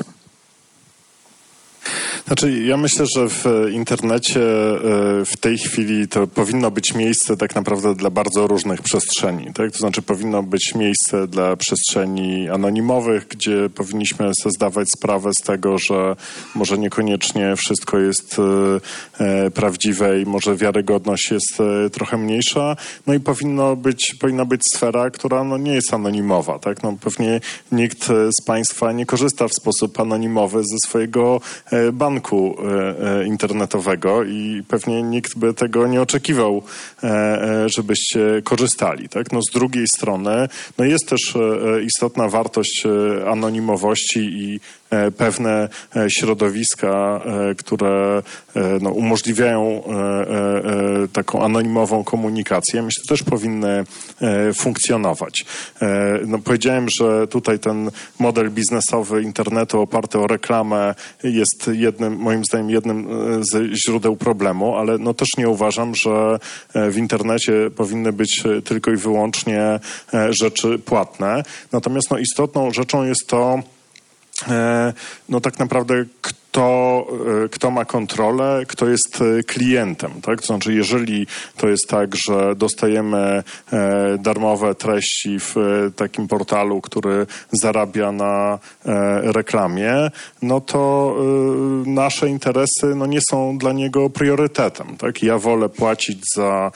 Znaczy, ja myślę, że w internecie w tej chwili to powinno być miejsce tak naprawdę dla bardzo różnych przestrzeni. Tak? To znaczy powinno być miejsce dla przestrzeni anonimowych, gdzie powinniśmy sobie zdawać sprawę z tego, że może niekoniecznie wszystko jest prawdziwe i może wiarygodność jest trochę mniejsza. No i powinna być sfera, która nie jest anonimowa. Tak? No, pewnie nikt z Państwa nie korzysta w sposób anonimowy ze swojego banku internetowego i pewnie nikt by tego nie oczekiwał, żebyście korzystali. Tak? No, z drugiej strony jest też istotna wartość anonimowości i pewne środowiska, które umożliwiają taką anonimową komunikację, myślę, też powinny funkcjonować. Powiedziałem, że tutaj ten model biznesowy internetu oparty o reklamę jest moim zdaniem jednym ze źródeł problemu, ale też nie uważam, że w internecie powinny być tylko i wyłącznie rzeczy płatne. Natomiast istotną rzeczą jest to, tak naprawdę kto ma kontrolę, kto jest klientem, tak? To znaczy, jeżeli to jest tak, że dostajemy darmowe treści w takim portalu, który zarabia na reklamie, to nasze interesy nie są dla niego priorytetem, tak? Ja wolę płacić za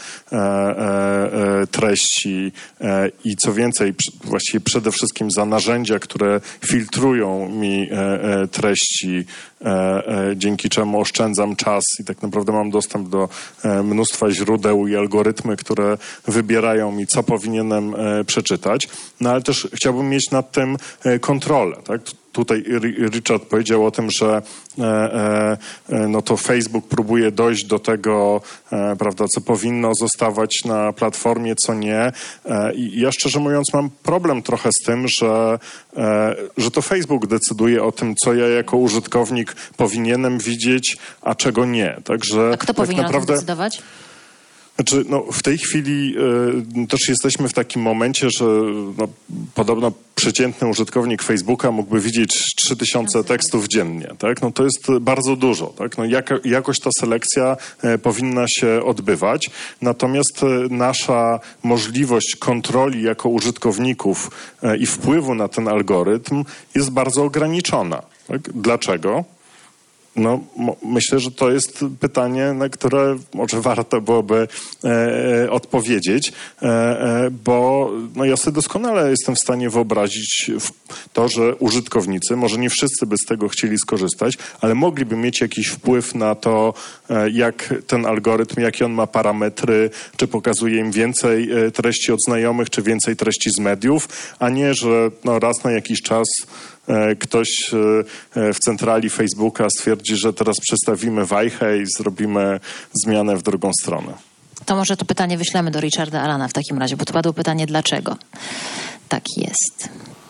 treści i co więcej, właściwie przede wszystkim za narzędzia, które filtrują mi treści, dzięki czemu oszczędzam czas i tak naprawdę mam dostęp do mnóstwa źródeł i algorytmy, które wybierają mi, co powinienem przeczytać. Ale też chciałbym mieć nad tym kontrolę, tak? Tutaj Richard powiedział o tym, że to Facebook próbuje dojść do tego, prawda, co powinno zostawać na platformie, co nie. I ja szczerze mówiąc mam problem trochę z tym, że to Facebook decyduje o tym, co ja jako użytkownik powinienem widzieć, a czego nie. Także a kto powinien o tym decydować? Znaczy, w tej chwili też jesteśmy w takim momencie, że podobno przeciętny użytkownik Facebooka mógłby widzieć 3000 tekstów dziennie, tak? To jest bardzo dużo, tak? Jakoś ta selekcja powinna się odbywać, natomiast nasza możliwość kontroli jako użytkowników i wpływu na ten algorytm jest bardzo ograniczona. Tak? Dlaczego? Myślę, że to jest pytanie, na które może warto byłoby odpowiedzieć, bo ja sobie doskonale jestem w stanie wyobrazić to, że użytkownicy, może nie wszyscy by z tego chcieli skorzystać, ale mogliby mieć jakiś wpływ na to, jak ten algorytm, jakie on ma parametry, czy pokazuje im więcej treści od znajomych, czy więcej treści z mediów, a nie, że raz na jakiś czas ktoś w centrali Facebooka stwierdzi, że teraz przestawimy wajchę i zrobimy zmianę w drugą stronę. To może to pytanie wyślemy do Richarda Allana w takim razie, bo to padło pytanie dlaczego. tak jest.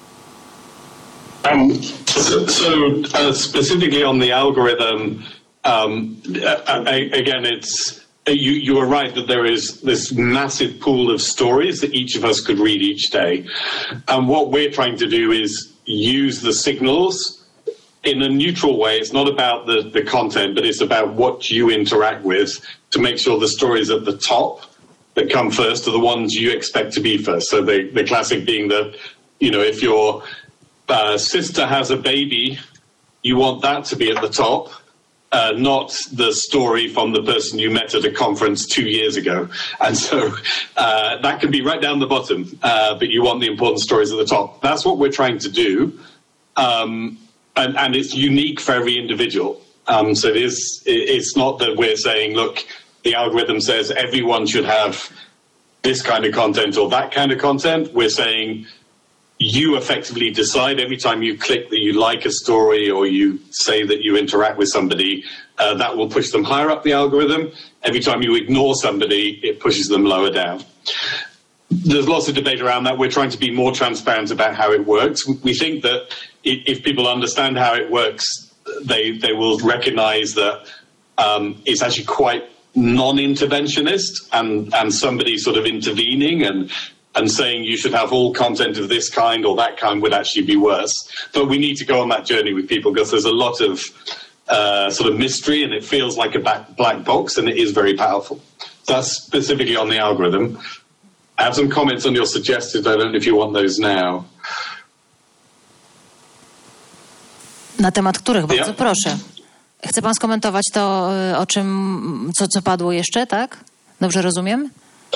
Specifically on the algorithm, again, it's you are right that there is this massive pool of stories that each of us could read each day, and what we're trying to do is use the signals in a neutral way. It's not about the content, but it's about what you interact with to make sure the stories at the top that come first are the ones you expect to be first. So the classic being that, if your sister has a baby, you want that to be at the top, not the story from the person you met at a conference 2 years ago. And so that can be right down the bottom, but you want the important stories at the top. That's what we're trying to do. And it's unique for every individual. So it's not that we're saying, look, the algorithm says everyone should have this kind of content or that kind of content. We're saying you effectively decide every time you click that you like a story or you say that you interact with somebody, that will push them higher up the algorithm. Every time you ignore somebody, it pushes them lower down. There's lots of debate around that. We're trying to be more transparent about how it works. We think that if people understand how it works, they will recognize that it's actually quite non-interventionist and somebody sort of intervening and saying you should have all content of this kind or that kind would actually be worse. But we need to go on that journey with people because there's a lot of sort of mystery and it feels like a black box and it is very powerful. So that's specifically on the algorithm. I have some comments on your suggested. I don't know if you want those now. Na temat których? Bardzo proszę. Chce pan skomentować to, o czym, co padło jeszcze, tak? Dobrze rozumiem?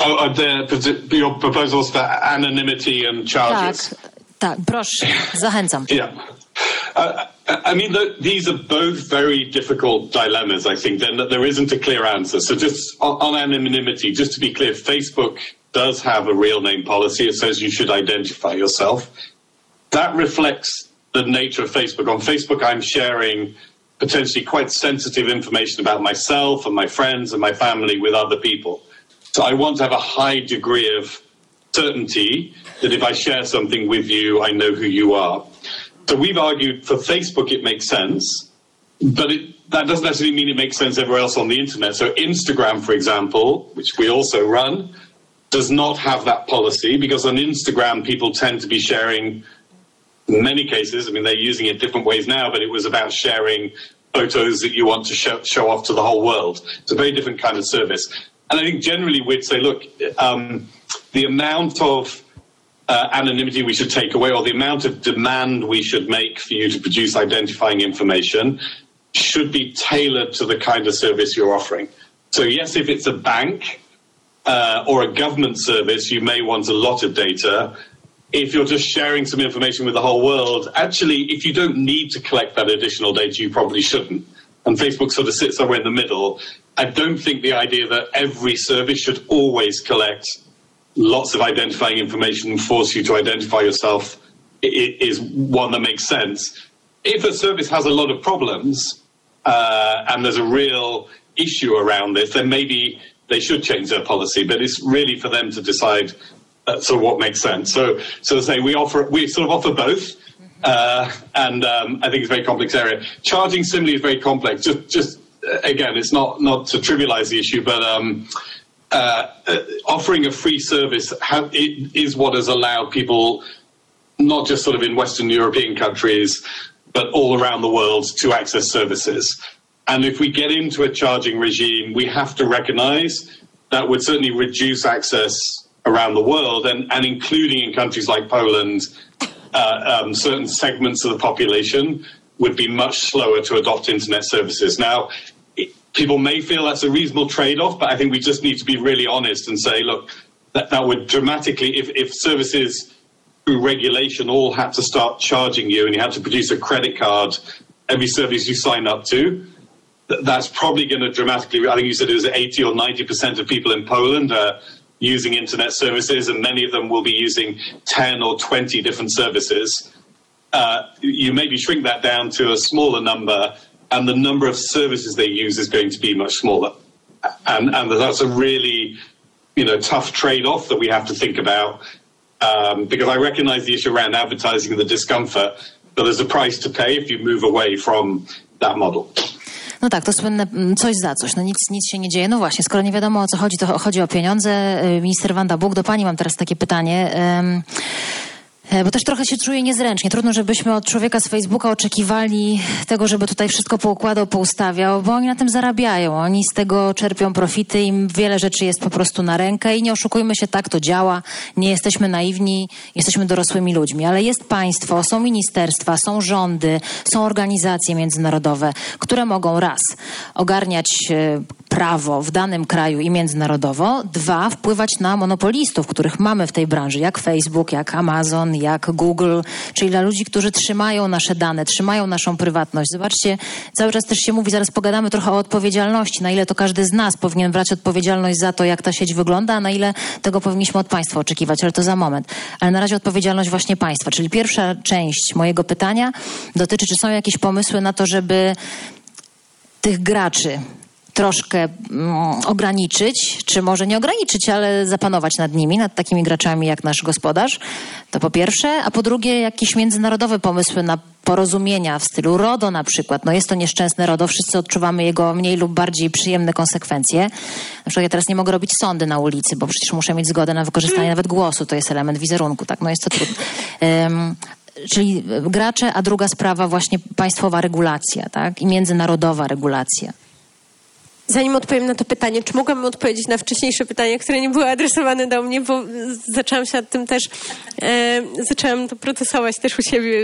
Your proposals for anonymity and charges. Tak, proszę, zachęcam. Yeah. I mean, these are both very difficult dilemmas, I think. There isn't a clear answer. So just on anonymity, just to be clear, Facebook does have a real name policy. It says you should identify yourself. That reflects the nature of Facebook. On Facebook, I'm sharing potentially quite sensitive information about myself and my friends and my family with other people. So I want to have a high degree of certainty that if I share something with you, I know who you are. So we've argued for Facebook it makes sense, but that doesn't necessarily mean it makes sense everywhere else on the internet. So Instagram, for example, which we also run, does not have that policy because on Instagram people tend to be sharing, in many cases, I mean, they're using it different ways now, but it was about sharing photos that you want to show off to the whole world. It's a very different kind of service. And I think generally we'd say, look, the amount of anonymity we should take away or the amount of demand we should make for you to produce identifying information should be tailored to the kind of service you're offering. So yes, if it's a bank or a government service, you may want a lot of data. If you're just sharing some information with the whole world, actually, if you don't need to collect that additional data, you probably shouldn't. And Facebook sort of sits somewhere in the middle. I don't think the idea that every service should always collect lots of identifying information and force you to identify yourself is one that makes sense. If a service has a lot of problems and there's a real issue around this, then maybe they should change their policy. But it's really for them to decide sort of what makes sense. So to say we sort of offer both. And I think it's a very complex area. Charging similarly is very complex. Just again, it's not to trivialize the issue, but offering a free service is what has allowed people, not just sort of in Western European countries, but all around the world to access services. And if we get into a charging regime, we have to recognize that would certainly reduce access around the world and including in countries like Poland, certain segments of the population would be much slower to adopt internet services. Now, people may feel that's a reasonable trade-off, but I think we just need to be really honest and say, look, that would dramatically, if services through regulation all had to start charging you and you had to produce a credit card every service you sign up to, that's probably going to dramatically, I think you said it was 80 or 90% of people in Poland are using internet services, and many of them will be using 10 or 20 different services. You maybe shrink that down to a smaller number, and the number of services they use is going to be much smaller. And that's a really, tough trade-off that we have to think about. because I recognize the issue around advertising and the discomfort, but there's a price to pay if you move away from that model. No tak, to słynne coś za coś. No nic się nie dzieje. No właśnie, skoro nie wiadomo o co chodzi, to chodzi o pieniądze. Minister Wanda Buk, do pani mam teraz takie pytanie. Bo też trochę się czuję niezręcznie. Trudno, żebyśmy od człowieka z Facebooka oczekiwali tego, żeby tutaj wszystko poukładał, poustawiał, bo oni na tym zarabiają. Oni z tego czerpią profity, im wiele rzeczy jest po prostu na rękę i nie oszukujmy się, tak to działa. Nie jesteśmy naiwni, jesteśmy dorosłymi ludźmi, ale jest państwo, są ministerstwa, są rządy, są organizacje międzynarodowe, które mogą raz ogarniać prawo w danym kraju i międzynarodowo, dwa, wpływać na monopolistów, których mamy w tej branży, jak Facebook, jak Amazon, jak Google, czyli dla ludzi, którzy trzymają nasze dane, trzymają naszą prywatność. Zobaczcie, cały czas też się mówi, zaraz pogadamy trochę o odpowiedzialności, na ile to każdy z nas powinien brać odpowiedzialność za to, jak ta sieć wygląda, a na ile tego powinniśmy od państwa oczekiwać, ale to za moment. Ale na razie odpowiedzialność właśnie państwa, czyli pierwsza część mojego pytania dotyczy, czy są jakieś pomysły na to, żeby tych graczy troszkę ograniczyć, czy może nie ograniczyć, ale zapanować nad nimi, nad takimi graczami jak nasz gospodarz. To po pierwsze, a po drugie jakieś międzynarodowe pomysły na porozumienia w stylu RODO na przykład. No jest to nieszczęsne RODO, wszyscy odczuwamy jego mniej lub bardziej przyjemne konsekwencje. Na przykład ja teraz nie mogę robić sądy na ulicy, bo przecież muszę mieć zgodę na wykorzystanie nawet głosu, to jest element wizerunku, tak? No jest to trudne. Czyli gracze, a druga sprawa właśnie państwowa regulacja, tak? I międzynarodowa regulacja. Zanim odpowiem na to pytanie, czy mogłabym odpowiedzieć na wcześniejsze pytanie, które nie były adresowane do mnie, bo zaczęłam się nad tym też, zaczęłam to procesować też u siebie.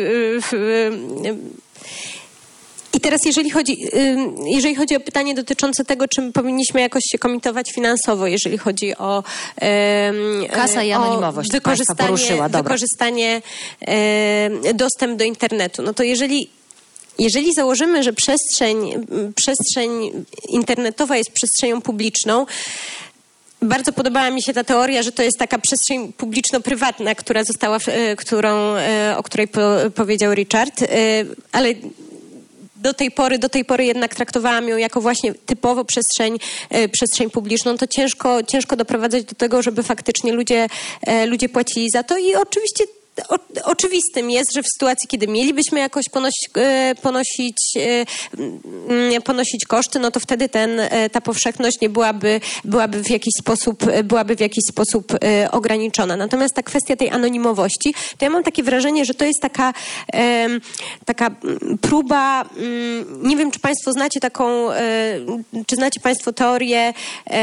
I teraz jeżeli chodzi o pytanie dotyczące tego, czym powinniśmy jakoś się komitować finansowo, jeżeli chodzi o kasa i anonimowość, wykorzystanie dostęp do internetu, no to jeżeli założymy, że przestrzeń internetowa jest przestrzenią publiczną, bardzo podobała mi się ta teoria, że to jest taka przestrzeń publiczno-prywatna, o której powiedział Richard, ale do tej pory jednak traktowałam ją jako właśnie typowo przestrzeń publiczną. To ciężko doprowadzać do tego, żeby faktycznie ludzie płacili za to i oczywiście oczywistym jest, że w sytuacji, kiedy mielibyśmy jakoś ponosić koszty, no to wtedy ta powszechność nie byłaby w jakiś sposób ograniczona. Natomiast ta kwestia tej anonimowości, to ja mam takie wrażenie, że to jest taka próba, nie wiem, czy Państwo znacie czy znacie Państwo teorię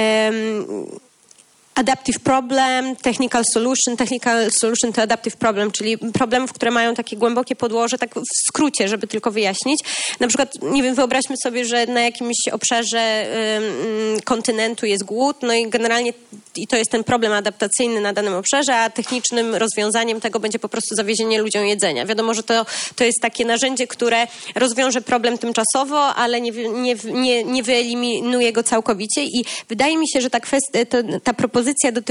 adaptive problem, technical solution to adaptive problem, czyli problemów, które mają takie głębokie podłoże, tak w skrócie, żeby tylko wyjaśnić. Na przykład, nie wiem, wyobraźmy sobie, że na jakimś obszarze kontynentu jest głód, no i generalnie i to jest ten problem adaptacyjny na danym obszarze, a technicznym rozwiązaniem tego będzie po prostu zawiezienie ludziom jedzenia. Wiadomo, że to jest takie narzędzie, które rozwiąże problem tymczasowo, ale nie wyeliminuje go całkowicie i wydaje mi się, że ta propozycja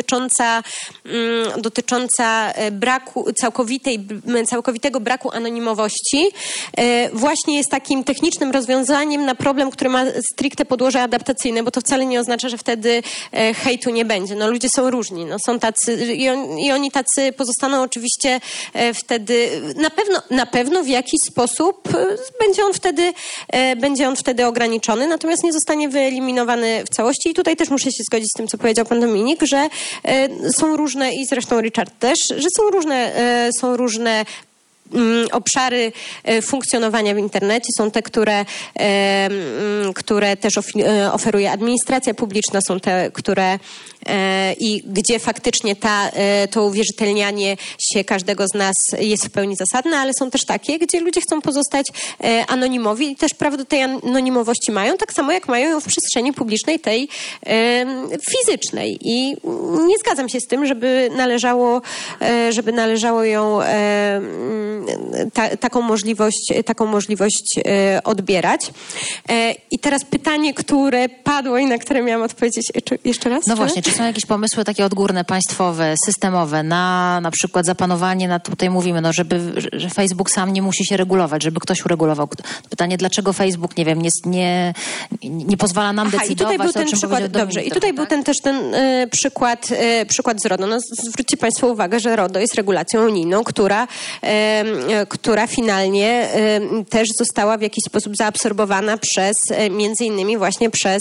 dotycząca całkowitego braku anonimowości właśnie jest takim technicznym rozwiązaniem na problem, który ma stricte podłoże adaptacyjne, bo to wcale nie oznacza, że wtedy hejtu nie będzie. No ludzie są różni, no są tacy i oni tacy pozostaną oczywiście wtedy, na pewno w jakiś sposób będzie on wtedy ograniczony, natomiast nie zostanie wyeliminowany w całości i tutaj też muszę się zgodzić z tym, co powiedział pan Dominik, że są różne, i zresztą Richard też, że są różne obszary funkcjonowania w internecie. Są te, które też oferuje administracja publiczna, są te, które i gdzie faktycznie to uwierzytelnianie się każdego z nas jest w pełni zasadne, ale są też takie, gdzie ludzie chcą pozostać anonimowi i też prawo do tej anonimowości mają, tak samo jak mają ją w przestrzeni publicznej, tej fizycznej. I nie zgadzam się z tym, żeby należało ją taką możliwość odbierać. I teraz pytanie, które padło i na które miałam odpowiedzieć jeszcze raz. No właśnie, czy są jakieś pomysły takie odgórne, państwowe, systemowe na przykład zapanowanie nad, tutaj mówimy, no że Facebook sam nie musi się regulować, żeby ktoś uregulował. Pytanie, dlaczego Facebook, nie wiem, nie pozwala nam decydować, i tutaj był ten przykład, dobrze. I tutaj był też ten przykład z RODO. No, zwróćcie Państwo uwagę, że RODO jest regulacją unijną, która finalnie też została w jakiś sposób zaabsorbowana między innymi właśnie przez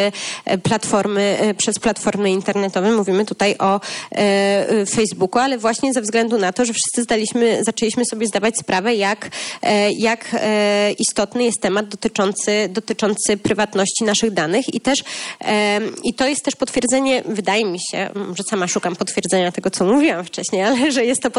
platformy internetowe. Mówimy tutaj o Facebooku, ale właśnie ze względu na to, że wszyscy zaczęliśmy sobie zdawać sprawę, jak istotny jest temat dotyczący prywatności naszych danych i to jest też potwierdzenie, wydaje mi się, że sama szukam potwierdzenia tego, co mówiłam wcześniej, ale że jest to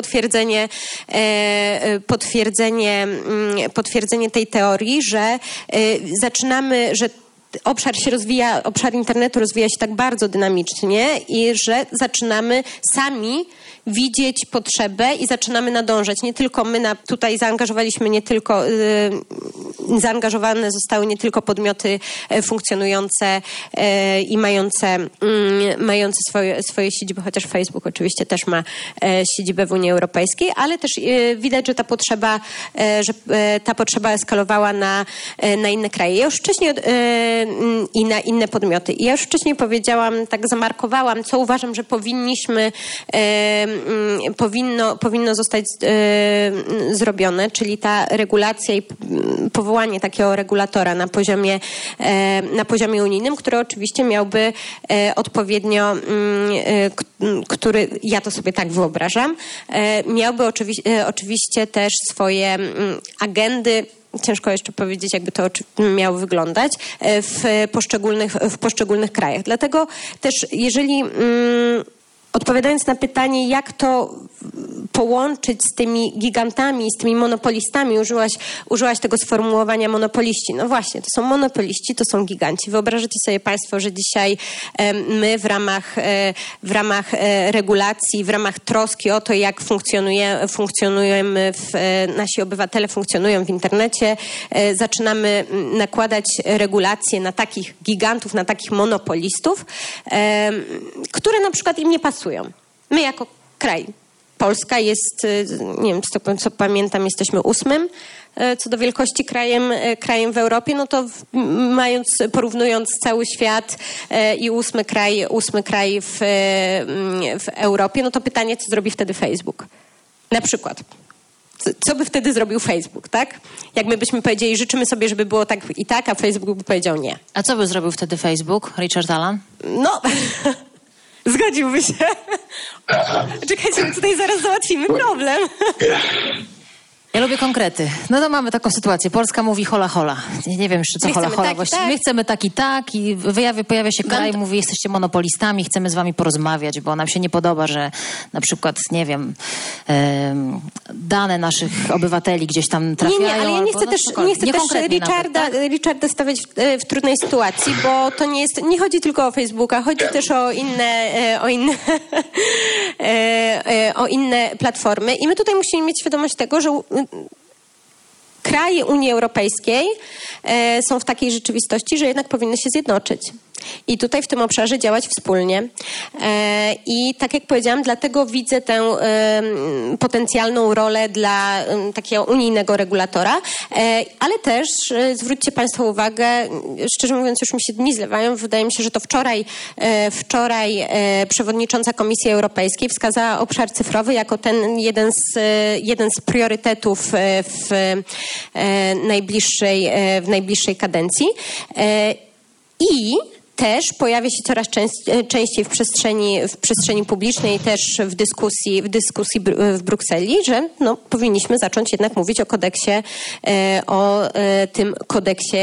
potwierdzenie tej teorii, że że obszar internetu rozwija się tak bardzo dynamicznie i że zaczynamy sami widzieć potrzebę i zaczynamy nadążać. Nie tylko my tutaj zaangażowane zostały nie tylko podmioty funkcjonujące i mające swoje siedziby, chociaż Facebook oczywiście też ma siedzibę w Unii Europejskiej, ale też widać, że ta potrzeba eskalowała na inne kraje. Ja już wcześniej i na inne podmioty. I ja już wcześniej powiedziałam, tak zamarkowałam, co uważam, że powinno zostać zrobione, czyli ta regulacja i powołanie takiego regulatora na poziomie unijnym, który oczywiście miałby odpowiednio, który, ja to sobie tak wyobrażam, miałby oczywiście też swoje agendy. Ciężko jeszcze powiedzieć, jakby to miało wyglądać w poszczególnych krajach. Dlatego też, jeżeli odpowiadając na pytanie, jak to połączyć z tymi gigantami, z tymi monopolistami, użyłaś tego sformułowania monopoliści. No właśnie, to są monopoliści, to są giganci. Wyobrażacie sobie Państwo, że dzisiaj my w ramach regulacji, w ramach troski o to, jak funkcjonujemy, nasi obywatele funkcjonują w internecie, zaczynamy nakładać regulacje na takich gigantów, na takich monopolistów, które na przykład im nie pasują. My jako kraj, Polska jest, nie wiem, co pamiętam, jesteśmy 8. Co do wielkości krajem w Europie, no to porównując cały świat i 8 kraj w Europie, no to pytanie, co zrobi wtedy Facebook? Na przykład. Co by wtedy zrobił Facebook, tak? Jak my byśmy powiedzieli, życzymy sobie, żeby było tak i tak, a Facebook by powiedział nie. A co by zrobił wtedy Facebook, Richard Allan? No... Zgodziłby się. Czekajcie, my tutaj zaraz załatwimy problem. Ja lubię konkrety. No to mamy taką sytuację. Polska mówi hola hola. Nie wiem jeszcze, co hola hola właściwie. Tak. My chcemy tak i pojawia się kraj i mówi, jesteście monopolistami, chcemy z wami porozmawiać, bo nam się nie podoba, że na przykład, nie wiem, dane naszych obywateli gdzieś tam trafiają. Nie, ale ja nie chcę też Richarda stawiać w trudnej sytuacji, bo to nie chodzi tylko o Facebooka, chodzi też o inne platformy i my tutaj musimy mieć świadomość tego, że kraje Unii Europejskiej są w takiej rzeczywistości, że jednak powinny się zjednoczyć. I tutaj w tym obszarze działać wspólnie. I tak jak powiedziałam, dlatego widzę tę potencjalną rolę dla takiego unijnego regulatora, ale też zwróćcie Państwo uwagę, szczerze mówiąc już mi się dni zlewają, wydaje mi się, że to wczoraj przewodnicząca Komisji Europejskiej wskazała obszar cyfrowy jako ten jeden z priorytetów w najbliższej kadencji. I też pojawia się coraz częściej w przestrzeni publicznej, też w dyskusji w Brukseli, że powinniśmy zacząć jednak mówić o tym kodeksie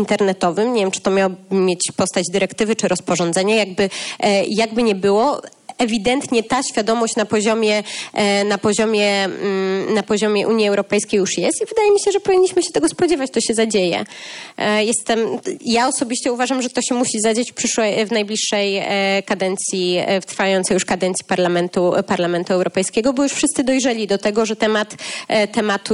internetowym. Nie wiem, czy to miało mieć postać dyrektywy czy rozporządzenia, jakby nie było. ewidentnie ta świadomość na poziomie Unii Europejskiej już jest i wydaje mi się, że powinniśmy się tego spodziewać, to się zadzieje. Ja osobiście uważam, że to się musi zadzieć w najbliższej kadencji, w trwającej już kadencji Parlamentu Europejskiego, bo już wszyscy dojrzeli do tego, że tematu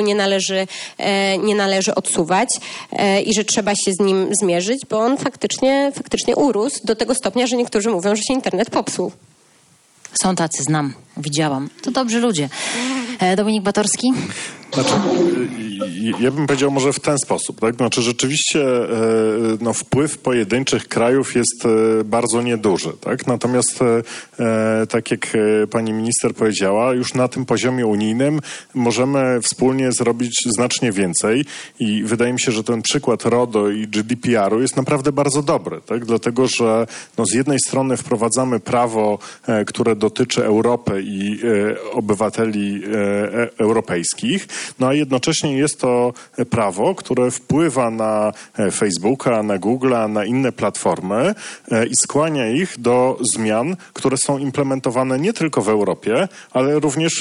nie należy odsuwać i że trzeba się z nim zmierzyć, bo on faktycznie urósł do tego stopnia, że niektórzy mówią, że się internet popsuł. Są tacy, znam, widziałam. To dobrzy ludzie. Dominik Batorski? Znaczy, ja bym powiedział może w ten sposób, tak? Znaczy rzeczywiście wpływ pojedynczych krajów jest bardzo nieduży, tak? Natomiast tak jak pani minister powiedziała, już na tym poziomie unijnym możemy wspólnie zrobić znacznie więcej i wydaje mi się, że ten przykład RODO i GDPR-u jest naprawdę bardzo dobry, tak? Dlatego, że z jednej strony wprowadzamy prawo, które dotyczy Europy i obywateli europejskich, a jednocześnie jest to prawo, które wpływa na Facebooka, na Google'a, na inne platformy i skłania ich do zmian, które są implementowane nie tylko w Europie, ale również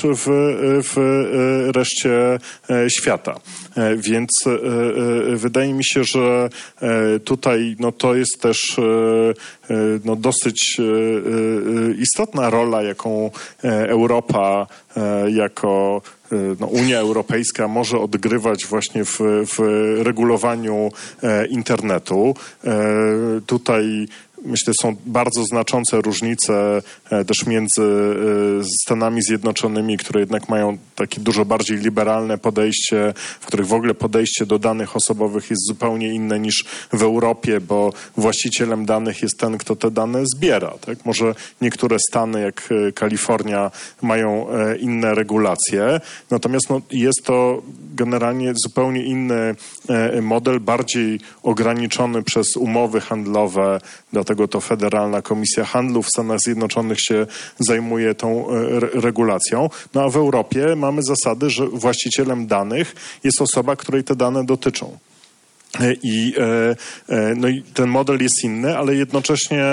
w reszcie świata. Więc wydaje mi się, że tutaj to jest też dosyć istotna rola, jaką Europa jako Unia Europejska może odgrywać właśnie w regulowaniu internetu. Tutaj myślę, są bardzo znaczące różnice też między Stanami Zjednoczonymi, które jednak mają takie dużo bardziej liberalne podejście, w których w ogóle podejście do danych osobowych jest zupełnie inne niż w Europie, bo właścicielem danych jest ten, kto te dane zbiera. Tak? Może niektóre stany, jak Kalifornia, mają inne regulacje, natomiast jest to generalnie zupełnie inny model, bardziej ograniczony przez umowy handlowe, dlatego to Federalna Komisja Handlu w Stanach Zjednoczonych się zajmuje tą regulacją. A w Europie mamy zasady, że właścicielem danych jest osoba, której te dane dotyczą. I ten model jest inny, ale jednocześnie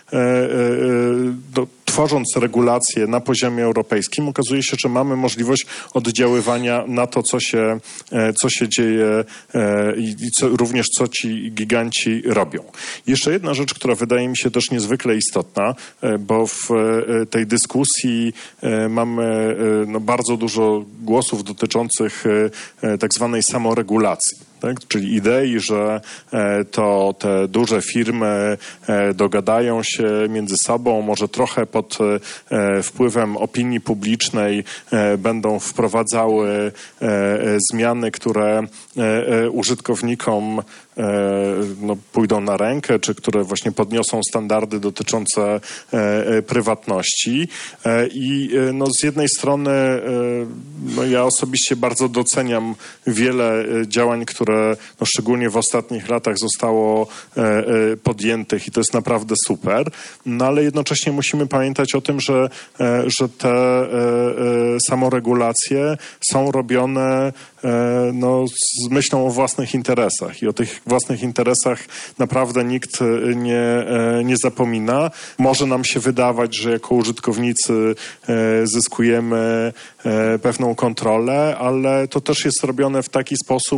tworząc regulacje na poziomie europejskim, okazuje się, że mamy możliwość oddziaływania na to, co się dzieje i również co ci giganci robią. Jeszcze jedna rzecz, która wydaje mi się też niezwykle istotna, bo w tej dyskusji mamy bardzo dużo głosów dotyczących tak zwanej samoregulacji. Tak? Czyli idei, że to te duże firmy dogadają się między sobą, może trochę pod wpływem opinii publicznej będą wprowadzały zmiany, które użytkownikom pójdą na rękę, czy które właśnie podniosą standardy dotyczące prywatności. I z jednej strony ja osobiście bardzo doceniam wiele działań, które szczególnie w ostatnich latach zostało podjętych i to jest naprawdę super, ale jednocześnie musimy pamiętać o tym, że te samoregulacje są robione z myślą o własnych interesach i o tych własnych interesach naprawdę nikt nie zapomina. Może nam się wydawać, że jako użytkownicy zyskujemy pewną kontrolę, ale to też jest robione w taki sposób,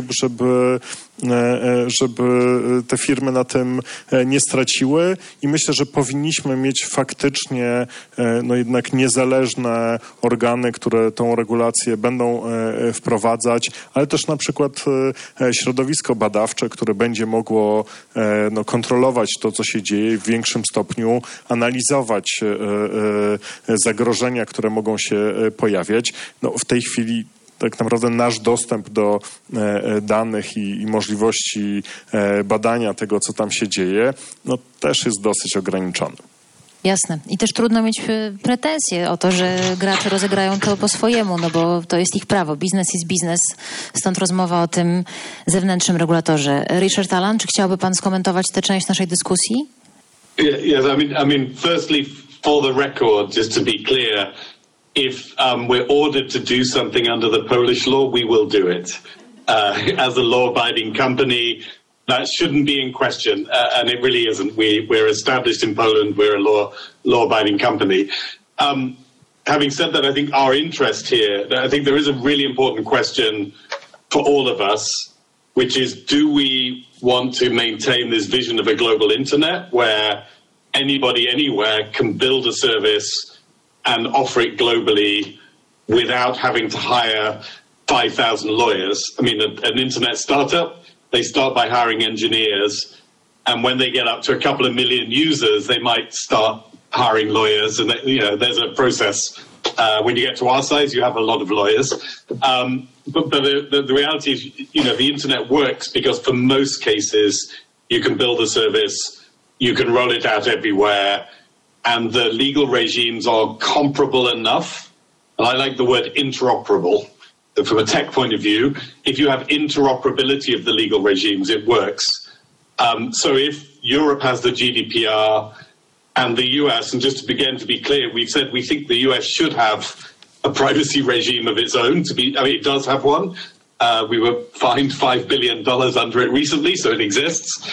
żeby te firmy na tym nie straciły i myślę, że powinniśmy mieć faktycznie jednak niezależne organy, które tą regulację będą wprowadzać, ale też na przykład środowisko badawcze, które będzie mogło kontrolować to, co się dzieje w większym stopniu, analizować zagrożenia, które mogą się pojawiać. W tej chwili tak naprawdę nasz dostęp do danych i możliwości badania tego, co tam się dzieje, też jest dosyć ograniczony. Jasne. I też trudno mieć pretensje o to, że gracze rozegrają to po swojemu, bo to jest ich prawo. Biznes jest biznes, stąd rozmowa o tym zewnętrznym regulatorze. Richard Allan, czy chciałby pan skomentować tę część naszej dyskusji? Yes, I mean, firstly, for the record, just to be clear, if we're ordered to do something under the Polish law, we will do it. As a law-abiding company, that shouldn't be in question, and it really isn't. We're established in Poland. We're a law-abiding company. Having said that, I think our interest here, I think there is a really important question for all of us, which is, do we want to maintain this vision of a global internet where anybody anywhere can build a service and offer it globally without having to hire 5,000 lawyers? I mean, an internet startup, they start by hiring engineers, and when they get up to a couple of million users, they might start hiring lawyers, and there's a process. When you get to our size, you have a lot of lawyers. But the reality is, the internet works because for most cases, you can build a service, you can roll it out everywhere, and the legal regimes are comparable enough. And I like the word interoperable. From a tech point of view, if you have interoperability of the legal regimes, it works. So if Europe has the GDPR and the US, and just to begin to be clear, we've said we think the US should have a privacy regime of its own. It does have one. We were fined $5 billion under it recently, so it exists.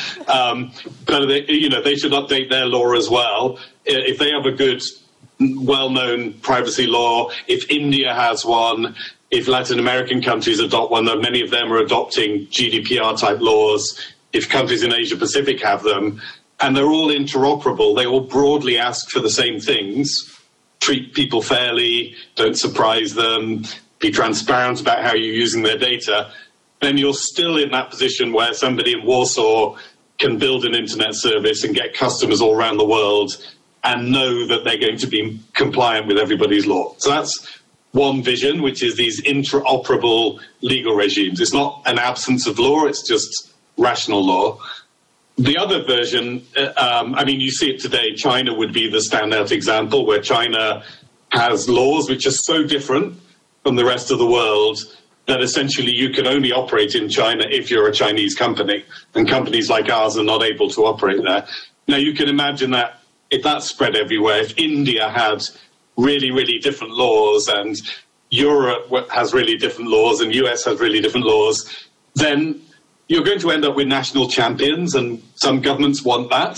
But they should update their law as well. If they have a good, well-known privacy law, if India has one, if Latin American countries adopt one, though many of them are adopting GDPR-type laws, if countries in Asia Pacific have them, and they're all interoperable, they all broadly ask for the same things: treat people fairly, don't surprise them, be transparent about how you're using their data, then you're still in that position where somebody in Warsaw can build an internet service and get customers all around the world and know that they're going to be compliant with everybody's law. So that's one vision, which is these interoperable legal regimes. It's not an absence of law, it's just rational law. The other version, you see it today. China would be the standout example, where China has laws which are so different from the rest of the world that essentially you can only operate in China if you're a Chinese company, and companies like ours are not able to operate there. Now, you can imagine that if that spread everywhere, if India had really, really different laws and Europe has really different laws and US has really different laws, then you're going to end up with national champions, and some governments want that.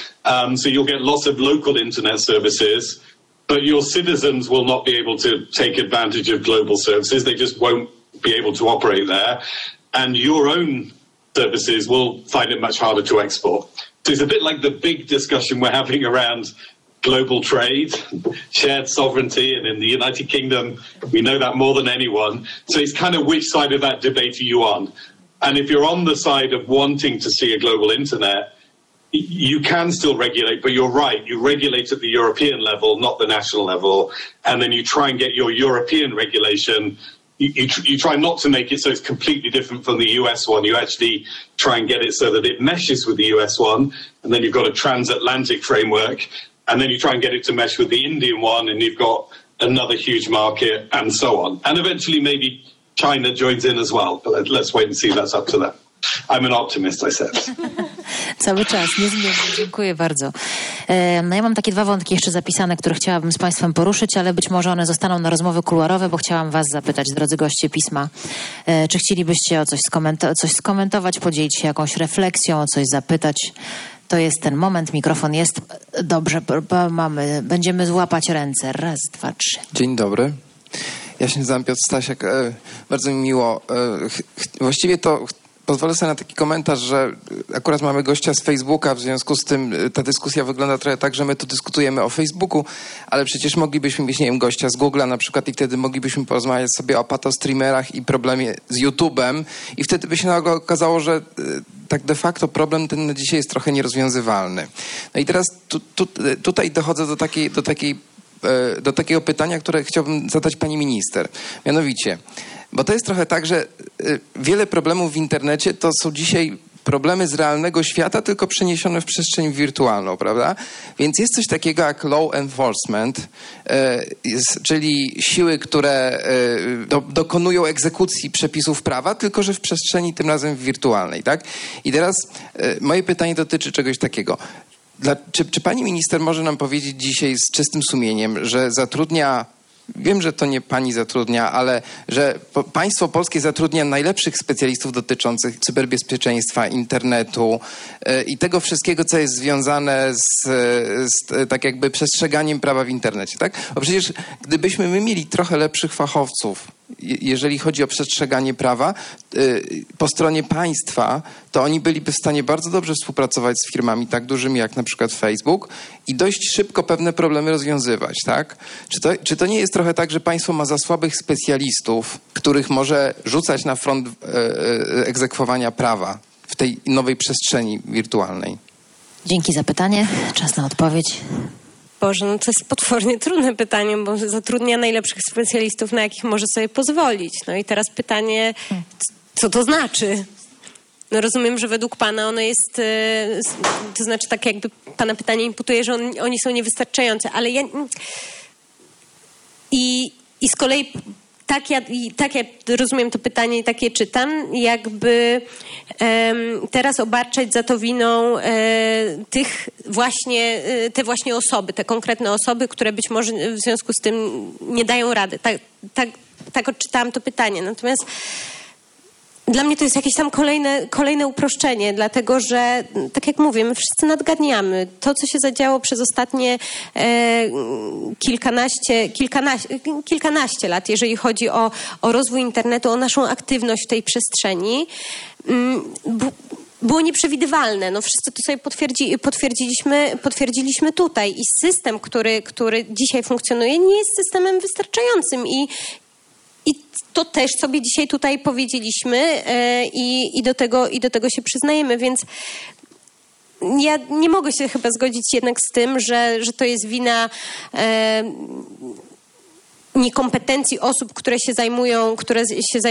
So you'll get lots of local internet services, but your citizens will not be able to take advantage of global services. They just won't be able to operate there. And your own services will find it much harder to export. So it's a bit like the big discussion we're having around global trade, shared sovereignty, and in the United Kingdom, we know that more than anyone. So it's kind of which side of that debate are you on? And if you're on the side of wanting to see a global internet, you can still regulate, but you're right. You regulate at the European level, not the national level. And then you try and get your European regulation. You try not to make it so it's completely different from the US one. You actually try and get it so that it meshes with the US one. And then you've got a transatlantic framework. And then you try and get it to mesh with the Indian one. And you've got another huge market and so on. And eventually maybe China joins in as well, but let's wait and see. That's up to them. I'm an optimist, I said. Cały czas, niezmiennie. Dziękuję bardzo. No ja mam takie dwa wątki jeszcze zapisane, które chciałabym z Państwem poruszyć, ale być może one zostaną na rozmowy kuluarowe, bo chciałam Was zapytać, drodzy goście pisma, czy chcielibyście coś skomentować, podzielić się jakąś refleksją, o coś zapytać. To jest ten moment, mikrofon jest. Dobrze, będziemy złapać ręce. Raz, dwa, trzy. Dzień dobry. Ja się nazywam Piotr Stasiak. Bardzo mi miło. Właściwie to pozwolę sobie na taki komentarz, że akurat mamy gościa z Facebooka, w związku z tym ta dyskusja wygląda trochę tak, że my tu dyskutujemy o Facebooku, ale przecież moglibyśmy mieć, nie wiem, gościa z Google'a na przykład i wtedy moglibyśmy porozmawiać sobie o patostreamerach i problemie z YouTube'em i wtedy by się nagle okazało, że tak de facto problem ten na dzisiaj jest trochę nierozwiązywalny. No i teraz tutaj dochodzę do takiego pytania, które chciałbym zadać pani minister. Mianowicie, bo to jest trochę tak, że wiele problemów w internecie to są dzisiaj problemy z realnego świata, tylko przeniesione w przestrzeń wirtualną, prawda? Więc jest coś takiego jak law enforcement, czyli siły, które dokonują egzekucji przepisów prawa, tylko że w przestrzeni tym razem wirtualnej, tak? I teraz moje pytanie dotyczy czegoś takiego. Czy pani minister może nam powiedzieć dzisiaj z czystym sumieniem, że zatrudnia wiem, że to nie pani zatrudnia, ale że państwo polskie zatrudnia najlepszych specjalistów dotyczących cyberbezpieczeństwa, internetu i tego wszystkiego, co jest związane z tak jakby przestrzeganiem prawa w internecie, tak? Bo przecież gdybyśmy my mieli trochę lepszych fachowców, jeżeli chodzi o przestrzeganie prawa po stronie państwa, to oni byliby w stanie bardzo dobrze współpracować z firmami tak dużymi jak na przykład Facebook i dość szybko pewne problemy rozwiązywać, tak? Czy to nie jest trochę tak, że państwo ma za słabych specjalistów, których może rzucać na front egzekwowania prawa w tej nowej przestrzeni wirtualnej? Dzięki za pytanie. Czas na odpowiedź. Boże, no to jest potwornie trudne pytanie, bo zatrudnia najlepszych specjalistów, na jakich może sobie pozwolić. No i teraz pytanie, co to znaczy? No rozumiem, że według pana ono jest, to znaczy tak jakby pana pytanie imputuje, że oni są niewystarczający, ale ja... I z kolei tak ja rozumiem to pytanie i tak je czytam, jakby teraz obarczać za to winą te właśnie osoby, te konkretne osoby, które być może w związku z tym nie dają rady. Tak odczytałam to pytanie. Natomiast dla mnie to jest jakieś tam kolejne uproszczenie, dlatego że, tak jak mówię, my wszyscy nadgadniamy. To, co się zadziało przez ostatnie kilkanaście lat, jeżeli chodzi o rozwój internetu, o naszą aktywność w tej przestrzeni, było nieprzewidywalne. No wszyscy to sobie potwierdziliśmy tutaj. I system, który dzisiaj funkcjonuje, nie jest systemem wystarczającym. I to też sobie dzisiaj tutaj powiedzieliśmy i do tego się przyznajemy, więc ja nie mogę się chyba zgodzić jednak z tym, że to jest wina niekompetencji osób, które się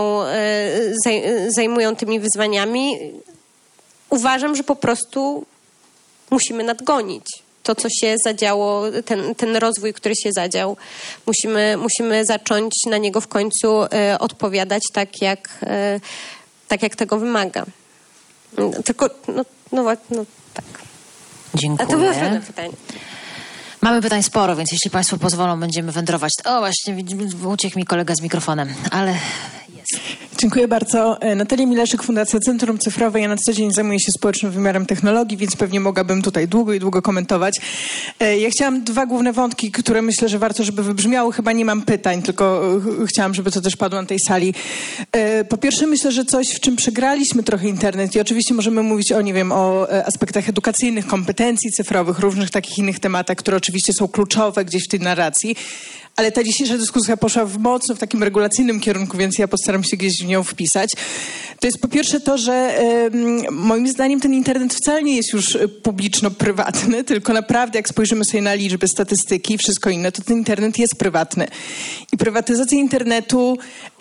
zajmują tymi wyzwaniami. Uważam, że po prostu musimy nadgonić to, co się zadziało, ten rozwój, który się zadział. Musimy zacząć na niego w końcu odpowiadać tak, jak tego wymaga. Tylko, tak. Dziękuję. A to było trudne pytanie. Mamy pytań sporo, więc jeśli państwo pozwolą, będziemy wędrować. O, właśnie, uciekł mi kolega z mikrofonem, ale jest. Dziękuję bardzo. Natalia Mileszek, Fundacja Centrum Cyfrowe. Ja na co dzień zajmuję się społecznym wymiarem technologii, więc pewnie mogłabym tutaj długo komentować. Ja chciałam 2 główne wątki, które myślę, że warto, żeby wybrzmiały. Chyba nie mam pytań, tylko chciałam, żeby to też padło na tej sali. Po pierwsze, myślę, że coś, w czym przegraliśmy trochę internet i oczywiście możemy mówić o aspektach edukacyjnych, kompetencji cyfrowych, różnych takich innych tematach, które oczywiście są kluczowe gdzieś w tej narracji. Ale ta dzisiejsza dyskusja poszła mocno w takim regulacyjnym kierunku, więc ja postaram się gdzieś w nią wpisać. To jest po pierwsze to, że moim zdaniem ten internet wcale nie jest już publiczno-prywatny, tylko naprawdę jak spojrzymy sobie na liczby, statystyki i wszystko inne, to ten internet jest prywatny. I prywatyzacja internetu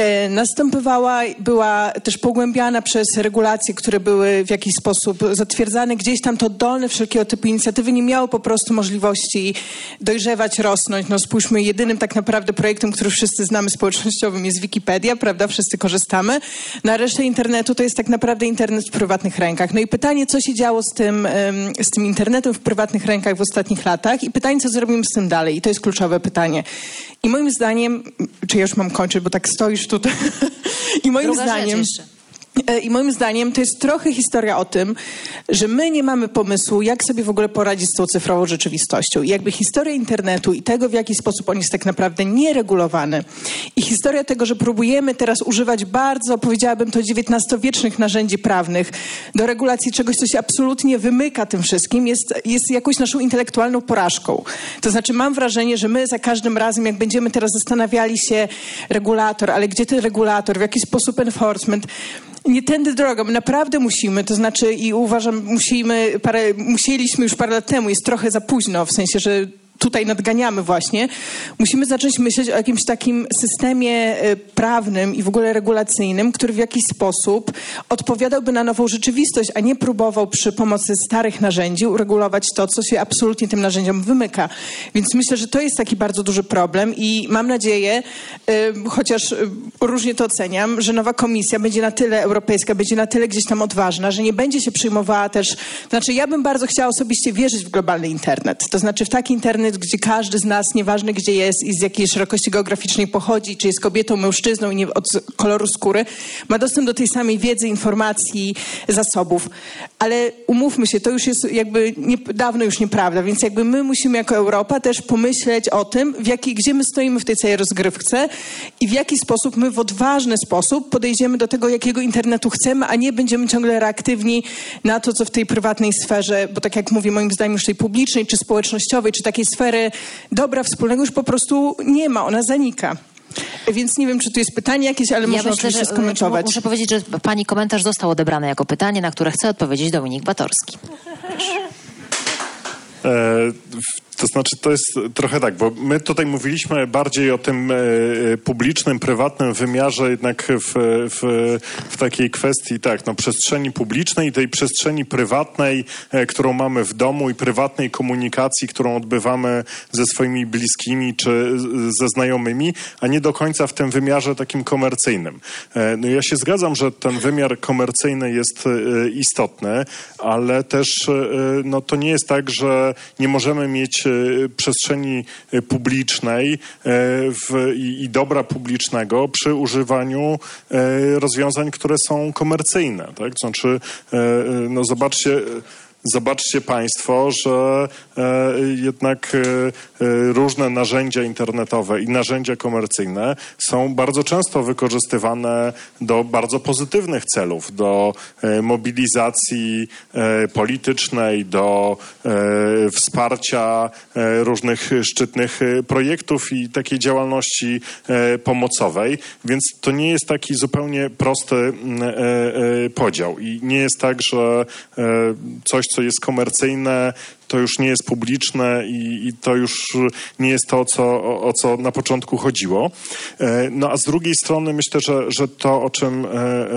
była też pogłębiana przez regulacje, które były w jakiś sposób zatwierdzane. Gdzieś tam to oddolne wszelkiego typu inicjatywy nie miały po prostu możliwości dojrzewać, rosnąć. No spójrzmy, jedynym tak naprawdę projektem, który wszyscy znamy społecznościowym jest Wikipedia, prawda? Wszyscy korzystamy. Na resztę internetu to jest tak naprawdę internet w prywatnych rękach. No i pytanie, co się działo z tym internetem w prywatnych rękach w ostatnich latach i pytanie, co zrobimy z tym dalej. I to jest kluczowe pytanie. I moim zdaniem, czy ja już mam kończyć, bo tak stoisz tutaj. I moim zdaniem to jest trochę historia o tym, że my nie mamy pomysłu, jak sobie w ogóle poradzić z tą cyfrową rzeczywistością. I jakby historia internetu i tego, w jaki sposób on jest tak naprawdę nieregulowany. I historia tego, że próbujemy teraz używać bardzo, powiedziałabym to, XIX-wiecznych narzędzi prawnych do regulacji czegoś, co się absolutnie wymyka tym wszystkim, jest jakąś naszą intelektualną porażką. To znaczy mam wrażenie, że my za każdym razem, jak będziemy teraz zastanawiali się regulator, ale gdzie ten regulator, w jaki sposób enforcement, nie tędy drogą. My naprawdę musimy, to znaczy i uważam, musieliśmy już parę lat temu, jest trochę za późno, w sensie, że tutaj nadganiamy właśnie, musimy zacząć myśleć o jakimś takim systemie prawnym i w ogóle regulacyjnym, który w jakiś sposób odpowiadałby na nową rzeczywistość, a nie próbował przy pomocy starych narzędzi uregulować to, co się absolutnie tym narzędziom wymyka. Więc myślę, że to jest taki bardzo duży problem i mam nadzieję, chociaż różnie to oceniam, że nowa komisja będzie na tyle europejska, będzie na tyle gdzieś tam odważna, że nie będzie się przyjmowała też, to znaczy ja bym bardzo chciała osobiście wierzyć w globalny internet, to znaczy w taki internet, internet, gdzie każdy z nas, nieważne gdzie jest i z jakiej szerokości geograficznej pochodzi, czy jest kobietą, mężczyzną i nie od koloru skóry, ma dostęp do tej samej wiedzy, informacji, zasobów. Ale umówmy się, to już jest jakby dawno już nieprawda, więc jakby my musimy jako Europa też pomyśleć o tym, gdzie my stoimy w tej całej rozgrywce i w jaki sposób my w odważny sposób podejdziemy do tego, jakiego internetu chcemy, a nie będziemy ciągle reaktywni na to, co w tej prywatnej sferze, bo tak jak mówię, moim zdaniem już tej publicznej, czy społecznościowej, czy takiej sfery dobra wspólnego już po prostu nie ma, ona zanika. Więc nie wiem, czy tu jest pytanie jakieś, ale można oczywiście skomentować. Muszę powiedzieć, że pani komentarz został odebrany jako pytanie, na które chce odpowiedzieć Dominik Batorski. To znaczy, to jest trochę tak, bo my tutaj mówiliśmy bardziej o tym publicznym, prywatnym wymiarze, jednak w takiej kwestii, tak, no, przestrzeni publicznej, tej przestrzeni prywatnej, którą mamy w domu i prywatnej komunikacji, którą odbywamy ze swoimi bliskimi czy ze znajomymi, a nie do końca w tym wymiarze takim komercyjnym. No ja się zgadzam, że ten wymiar komercyjny jest istotny, ale też no, to nie jest tak, że nie możemy mieć przestrzeni publicznej i dobra publicznego przy używaniu rozwiązań, które są komercyjne. Tak? To znaczy, no zobaczcie państwo, że jednak różne narzędzia internetowe i narzędzia komercyjne są bardzo często wykorzystywane do bardzo pozytywnych celów, do mobilizacji politycznej, do wsparcia różnych szczytnych projektów i takiej działalności pomocowej, więc to nie jest taki zupełnie prosty podział i nie jest tak, że coś, co jest komercyjne, to już nie jest publiczne i to już nie jest to, o co na początku chodziło. No a z drugiej strony myślę, że to, o czym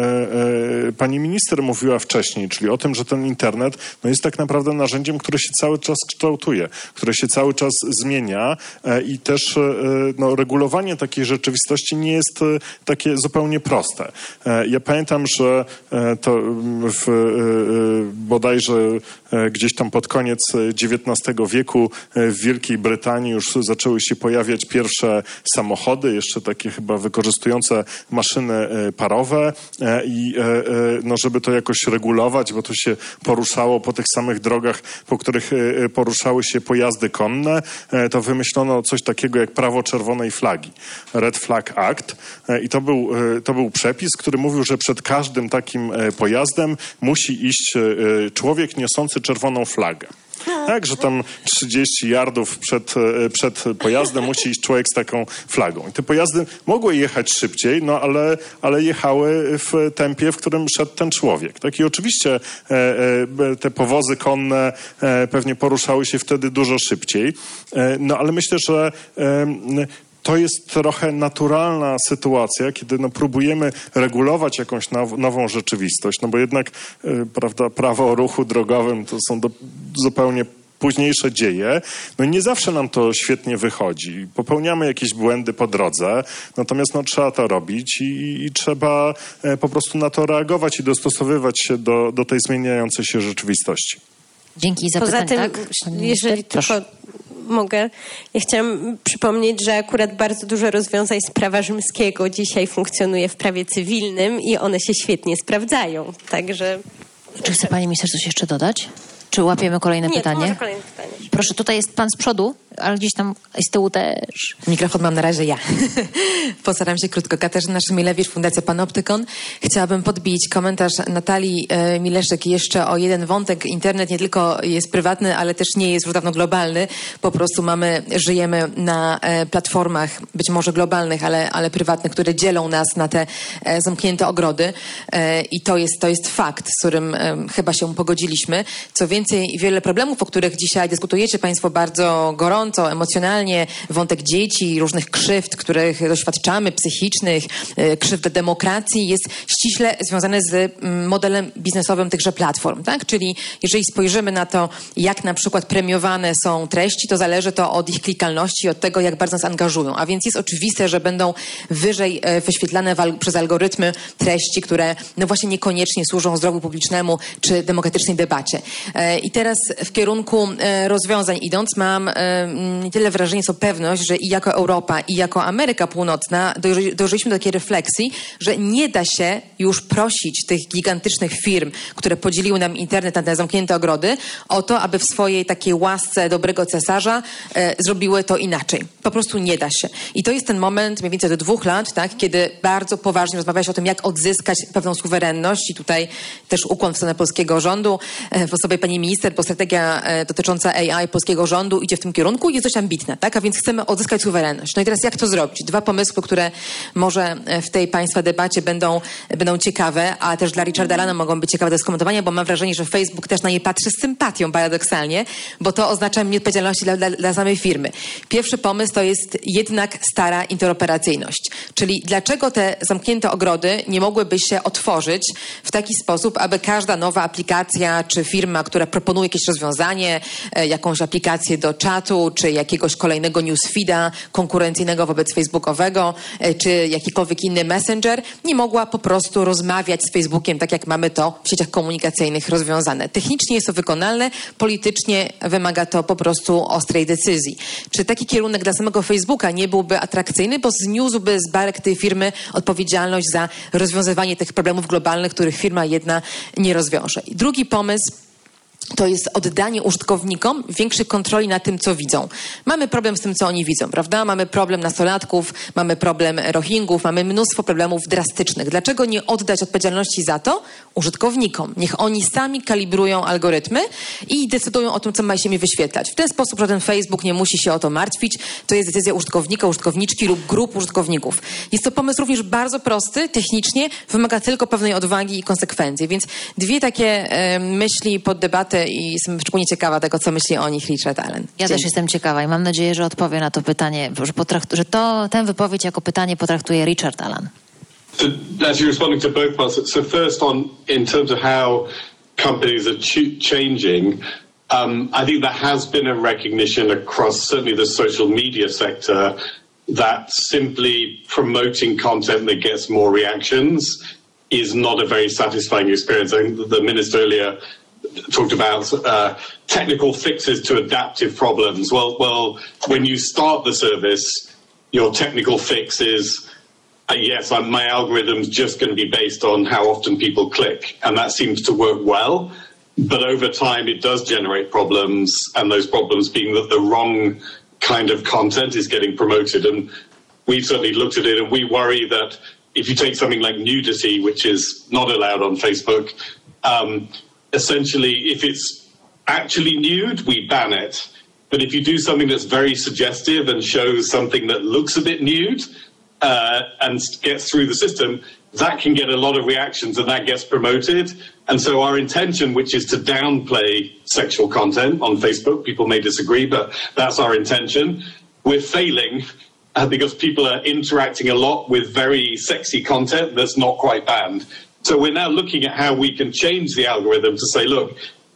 pani minister mówiła wcześniej, czyli o tym, że ten internet no jest tak naprawdę narzędziem, które się cały czas kształtuje, które się cały czas zmienia i też no, regulowanie takiej rzeczywistości nie jest takie zupełnie proste. Ja pamiętam, że to bodajże gdzieś tam pod koniec XIX wieku w Wielkiej Brytanii już zaczęły się pojawiać pierwsze samochody, jeszcze takie chyba wykorzystujące maszyny parowe i no, żeby to jakoś regulować, bo to się poruszało po tych samych drogach, po których poruszały się pojazdy konne, to wymyślono coś takiego jak prawo czerwonej flagi, Red Flag Act, i to był przepis, który mówił, że przed każdym takim pojazdem musi iść człowiek niosący czerwoną flagę. Tak, że tam 30 yardów przed pojazdem musi iść człowiek z taką flagą. I te pojazdy mogły jechać szybciej, no ale jechały w tempie, w którym szedł ten człowiek. Tak? I oczywiście te powozy konne pewnie poruszały się wtedy dużo szybciej. No ale myślę, że to jest trochę naturalna sytuacja, kiedy no, próbujemy regulować jakąś nową rzeczywistość, no bo jednak prawda, prawo o ruchu drogowym to są zupełnie późniejsze dzieje. No i nie zawsze nam to świetnie wychodzi. Popełniamy jakieś błędy po drodze, natomiast no, trzeba to robić i trzeba po prostu na to reagować i dostosowywać się do tej zmieniającej się rzeczywistości. Dzięki za pytanie. Poza tym, tak? jeżeli tylko mogę, ja chciałam przypomnieć, że akurat bardzo dużo rozwiązań z prawa rzymskiego dzisiaj funkcjonuje w prawie cywilnym i one się świetnie sprawdzają. Także... Czy chce pani minister coś jeszcze dodać? Czy łapiemy kolejne pytanie? Nie, kolejne pytanie. Proszę, tutaj jest pan z przodu, ale gdzieś tam z tyłu też. Mikrofon mam na razie ja. Postaram się krótko. Katarzyna Szymilewicz, Fundacja Panoptykon. Chciałabym podbić komentarz Natalii Mileszek jeszcze o jeden wątek. Internet nie tylko jest prywatny, ale też nie jest już dawno globalny. Po prostu żyjemy na platformach, być może globalnych, ale prywatnych, które dzielą nas na te zamknięte ogrody. I to jest fakt, z którym chyba się pogodziliśmy. Co więcej, wiele problemów, o których dzisiaj dyskutujecie państwo bardzo gorąco, emocjonalnie, wątek dzieci, różnych krzywd, których doświadczamy, psychicznych, krzywd demokracji, jest ściśle związane z modelem biznesowym tychże platform, tak? Czyli jeżeli spojrzymy na to, jak na przykład premiowane są treści, to zależy to od ich klikalności, od tego, jak bardzo nas angażują. A więc jest oczywiste, że będą wyżej wyświetlane przez algorytmy treści, które no właśnie niekoniecznie służą zdrowiu publicznemu czy demokratycznej debacie. I teraz w kierunku rozwiązań idąc, mam nie tyle wrażenie, co pewność, że i jako Europa, i jako Ameryka Północna dążyliśmy do takiej refleksji, że nie da się już prosić tych gigantycznych firm, które podzieliły nam internet na te zamknięte ogrody, o to, aby w swojej takiej łasce dobrego cesarza zrobiły to inaczej. Po prostu nie da się. I to jest ten moment mniej więcej do 2 lat, tak, kiedy bardzo poważnie rozmawia się o tym, jak odzyskać pewną suwerenność i tutaj też ukłon w stronę polskiego rządu w osobie pani minister, bo strategia dotycząca AI polskiego rządu idzie w tym kierunku i jest dość ambitna, tak? A więc chcemy odzyskać suwerenność. No i teraz jak to zrobić? 2 pomysły, które może w tej państwa debacie będą ciekawe, a też dla Richarda Allena mogą być ciekawe do skomentowania, bo mam wrażenie, że Facebook też na nie patrzy z sympatią, paradoksalnie, bo to oznacza nieodpowiedzialności dla samej firmy. Pierwszy pomysł to jest jednak stara interoperacyjność. Czyli dlaczego te zamknięte ogrody nie mogłyby się otworzyć w taki sposób, aby każda nowa aplikacja czy firma, która proponuje jakieś rozwiązanie, jakąś aplikację do czatu, czy jakiegoś kolejnego newsfeeda konkurencyjnego wobec facebookowego, czy jakikolwiek inny messenger, nie mogła po prostu rozmawiać z Facebookiem tak, jak mamy to w sieciach komunikacyjnych rozwiązane. Technicznie jest to wykonalne, politycznie wymaga to po prostu ostrej decyzji. Czy taki kierunek dla samego Facebooka nie byłby atrakcyjny, bo zniósłby z barek tej firmy odpowiedzialność za rozwiązywanie tych problemów globalnych, których firma jedna nie rozwiąże. I drugi pomysł to jest oddanie użytkownikom większej kontroli nad tym, co widzą. Mamy problem z tym, co oni widzą, prawda? Mamy problem nastolatków, mamy problem Rohingów, mamy mnóstwo problemów drastycznych. Dlaczego nie oddać odpowiedzialności za to użytkownikom? Niech oni sami kalibrują algorytmy i decydują o tym, co ma się mi wyświetlać. W ten sposób żaden Facebook nie musi się o to martwić. To jest decyzja użytkownika, użytkowniczki lub grup użytkowników. Jest to pomysł również bardzo prosty, technicznie, wymaga tylko pewnej odwagi i konsekwencji. Więc 2 takie myśli pod debatę i jestem szczególnie ciekawa tego, co myśli o nich Richard Allen. Ja też jestem ciekawa i mam nadzieję, że odpowie na to pytanie, że tę wypowiedź jako pytanie potraktuje Richard Allen. Actually responding to both parts. So first in terms of how companies are changing, I think there has been a recognition across certainly the social media sector that simply promoting content that gets more reactions is not a very satisfying experience. I think the minister earlier talked about technical fixes to adaptive problems. Well, when you start the service, your technical fix is, yes, my algorithm's just going to be based on how often people click, and that seems to work well. But over time, it does generate problems, and those problems being that the wrong kind of content is getting promoted. And we've certainly looked at it, and we worry that if you take something like nudity, which is not allowed on Facebook, essentially, if it's actually nude, we ban it. But if you do something that's very suggestive and shows something that looks a bit nude and gets through the system, that can get a lot of reactions and that gets promoted. And so our intention, which is to downplay sexual content on Facebook, people may disagree, but that's our intention. We're failing because people are interacting a lot with very sexy content that's not quite banned. So we're now looking at how we can change the algorithm to say, look,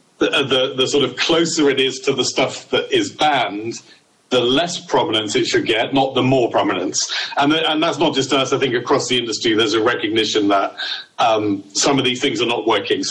the sort of closer it is to the stuff that is banned, the less prominence it should get, not the more prominence. And that's not just us. I think across the industry, there's a recognition that some of these things are not working.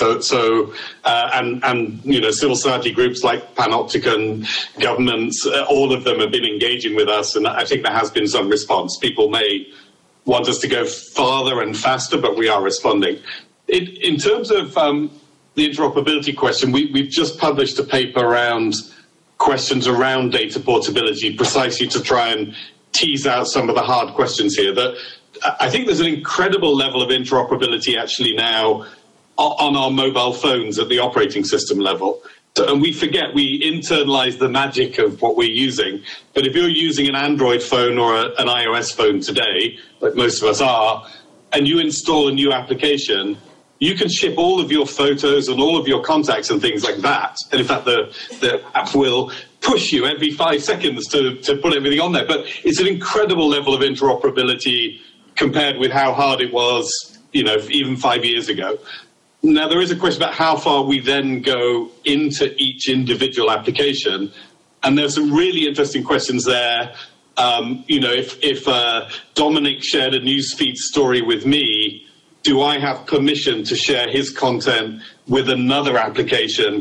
And you know, civil society groups like Panopticon, governments, all of them have been engaging with us, and I think there has been some response. People may want us to go farther and faster, but we are responding. In terms of the interoperability question, we've just published a paper around questions around data portability, precisely to try and tease out some of the hard questions here. That I think there's an incredible level of interoperability actually now on our mobile phones at the operating system level. And we forget, we internalize the magic of what we're using. But if you're using an Android phone or an iOS phone today, like most of us are, and you install a new application, you can ship all of your photos and all of your contacts and things like that. And in fact, the app will push you every 5 seconds to put everything on there. But it's an incredible level of interoperability compared with how hard it was, you know, even 5 years ago. Now, there is a question about how far we then go into each individual application. And there's some really interesting questions there. You know, if Dominic shared a newsfeed story with me, do I have permission to share his content with another application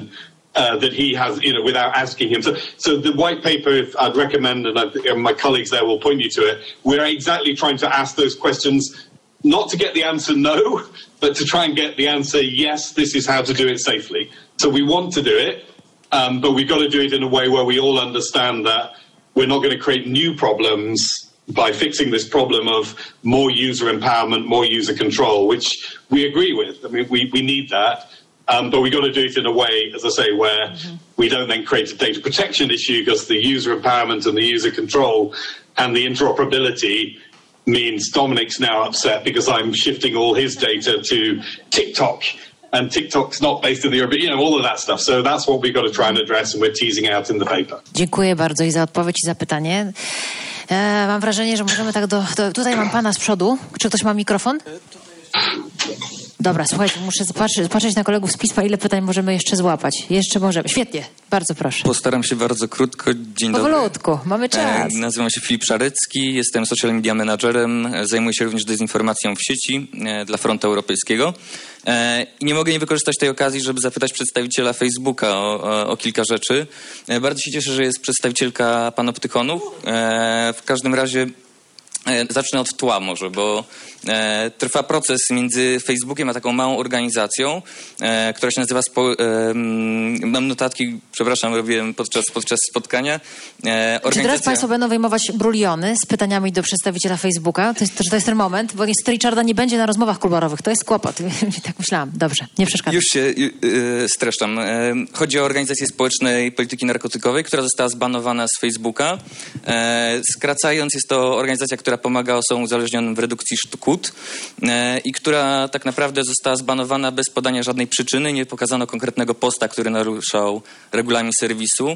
that he has, without asking him. So the white paper, if I'd recommend, and my colleagues there will point you to it, we're exactly trying to ask those questions, not to get the answer no, but to try and get the answer yes, this is how to do it safely. So we want to do it, but we've got to do it in a way where we all understand that we're not going to create new problems by fixing this problem of more user empowerment, more user control, which we agree with. I mean, we need that. But we've got to do it in a way, as I say, where we don't then create a data protection issue, because the user empowerment and the user control and the interoperability means Dominic's now upset because I'm shifting all his data to TikTok, and TikTok's not based in the Europe, all of that stuff. So that's what we've got to try and address, and we're teasing out in the paper. Dziękuję bardzo i za odpowiedź i za pytanie. Mam wrażenie, że możemy tak tutaj mam pana z przodu. Czy ktoś ma mikrofon? Dobra, słuchajcie, muszę patrzeć na kolegów z pisma, ile pytań możemy jeszcze złapać. Jeszcze możemy. Świetnie, bardzo proszę. Postaram się bardzo krótko. Dzień dobry. Powolutku, mamy czas. Nazywam się Filip Szarecki, jestem social media managerem, zajmuję się również dezinformacją w sieci dla Frontu Europejskiego. I nie mogę nie wykorzystać tej okazji, żeby zapytać przedstawiciela Facebooka o kilka rzeczy. Bardzo się cieszę, że jest przedstawicielka Panoptykonu. W każdym razie zacznę od tła może, bo trwa proces między Facebookiem a taką małą organizacją, która się nazywa mam notatki, przepraszam, robiłem podczas spotkania. Czy teraz państwo będą wyjmować bruliony z pytaniami do przedstawiciela Facebooka? To jest ten moment, bo niestety Richarda nie będzie na rozmowach kuluarowych. To jest kłopot. Tak myślałam. Dobrze, nie przeszkadzam. Już się streszczam. Chodzi o organizację społecznej polityki narkotykowej, która została zbanowana z Facebooka. Skracając, jest to organizacja, która pomaga osobom uzależnionym w redukcji szkód i która tak naprawdę została zbanowana bez podania żadnej przyczyny. Nie pokazano konkretnego posta, który naruszał regulamin serwisu.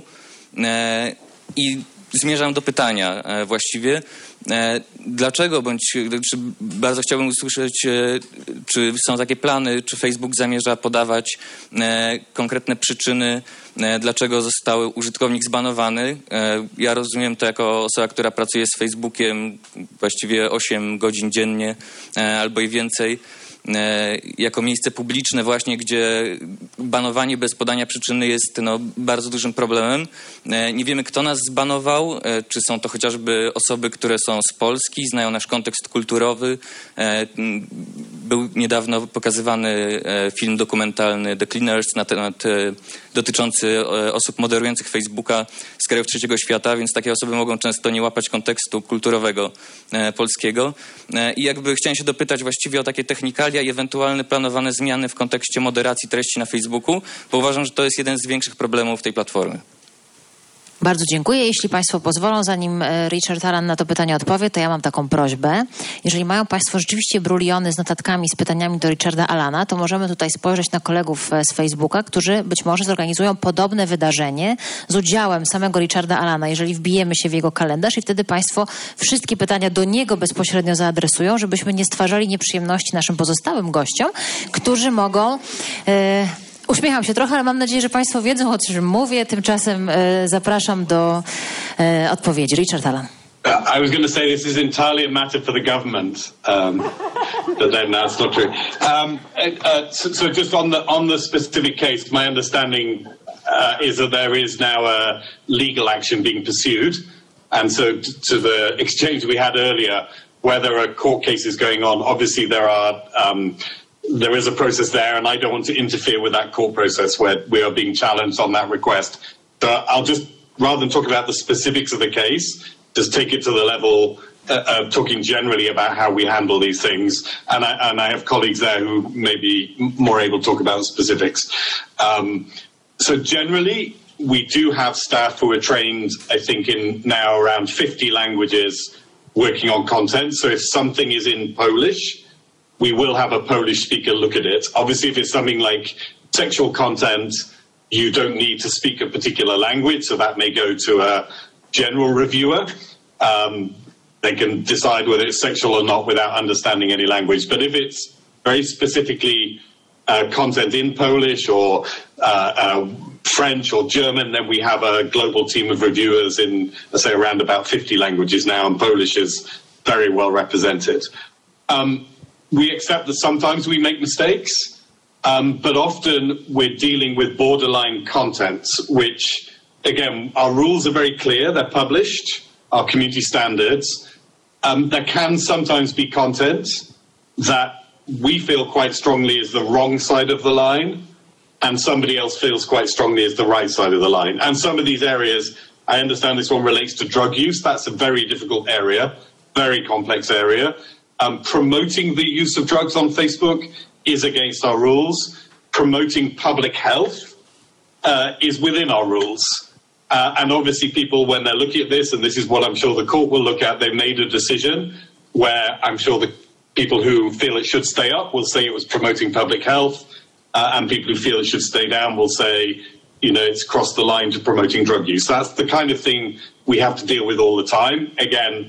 I zmierzam do pytania właściwie. Dlaczego, czy bardzo chciałbym usłyszeć, czy są takie plany, czy Facebook zamierza podawać konkretne przyczyny, dlaczego został użytkownik zbanowany. Ja rozumiem to jako osoba, która pracuje z Facebookiem właściwie 8 godzin dziennie albo i więcej, jako miejsce publiczne właśnie, gdzie banowanie bez podania przyczyny jest bardzo dużym problemem. Nie wiemy, kto nas zbanował, czy są to chociażby osoby, które są z Polski, znają nasz kontekst kulturowy. Był niedawno pokazywany film dokumentalny The Cleaners na temat dotyczący osób moderujących Facebooka z krajów trzeciego świata, więc takie osoby mogą często nie łapać kontekstu kulturowego polskiego. I chciałem się dopytać właściwie o takie technikalia i ewentualne planowane zmiany w kontekście moderacji treści na Facebooku, bo uważam, że to jest jeden z większych problemów tej platformy. Bardzo dziękuję. Jeśli państwo pozwolą, zanim Richard Allan na to pytanie odpowie, to ja mam taką prośbę. Jeżeli mają państwo rzeczywiście bruliony z notatkami, z pytaniami do Richarda Allana, to możemy tutaj spojrzeć na kolegów z Facebooka, którzy być może zorganizują podobne wydarzenie z udziałem samego Richarda Allana, jeżeli wbijemy się w jego kalendarz i wtedy państwo wszystkie pytania do niego bezpośrednio zaadresują, żebyśmy nie stwarzali nieprzyjemności naszym pozostałym gościom, którzy mogą... Uśmiecham się trochę, ale mam nadzieję, że państwo wiedzą, o czym mówię. Tymczasem zapraszam do odpowiedzi. Richard Allan. I was going to say this is entirely a matter for the government, but then that's not true. So just on the specific case, my understanding is that there is now a legal action being pursued, and so to the exchange we had earlier, whether a court case is going on, obviously there is a process there, and I don't want to interfere with that court process where we are being challenged on that request. But I'll just, rather than talk about the specifics of the case, just take it to the level of talking generally about how we handle these things. And I have colleagues there who may be more able to talk about specifics. So generally, we do have staff who are trained, I think, in now around 50 languages working on content. So if something is in Polish, we will have a Polish speaker look at it. Obviously, if it's something like sexual content, you don't need to speak a particular language, so that may go to a general reviewer. They can decide whether it's sexual or not without understanding any language. But if it's very specifically content in Polish or French or German, then we have a global team of reviewers in, let's say, around about 50 languages now, and Polish is very well represented. We accept that sometimes we make mistakes. But often we're dealing with borderline content, which, again, our rules are very clear. They're published, our community standards. There can sometimes be content that we feel quite strongly is the wrong side of the line, and somebody else feels quite strongly is the right side of the line. And some of these areas, I understand this one relates to drug use. That's a very difficult area, very complex area. Promoting the use of drugs on Facebook is against our rules. Promoting public health is within our rules. And obviously people, when they're looking at this, and this is what I'm sure the court will look at, they made a decision where I'm sure the people who feel it should stay up will say it was promoting public health, and people who feel it should stay down will say, you know, it's crossed the line to promoting drug use. That's the kind of thing we have to deal with all the time. Again,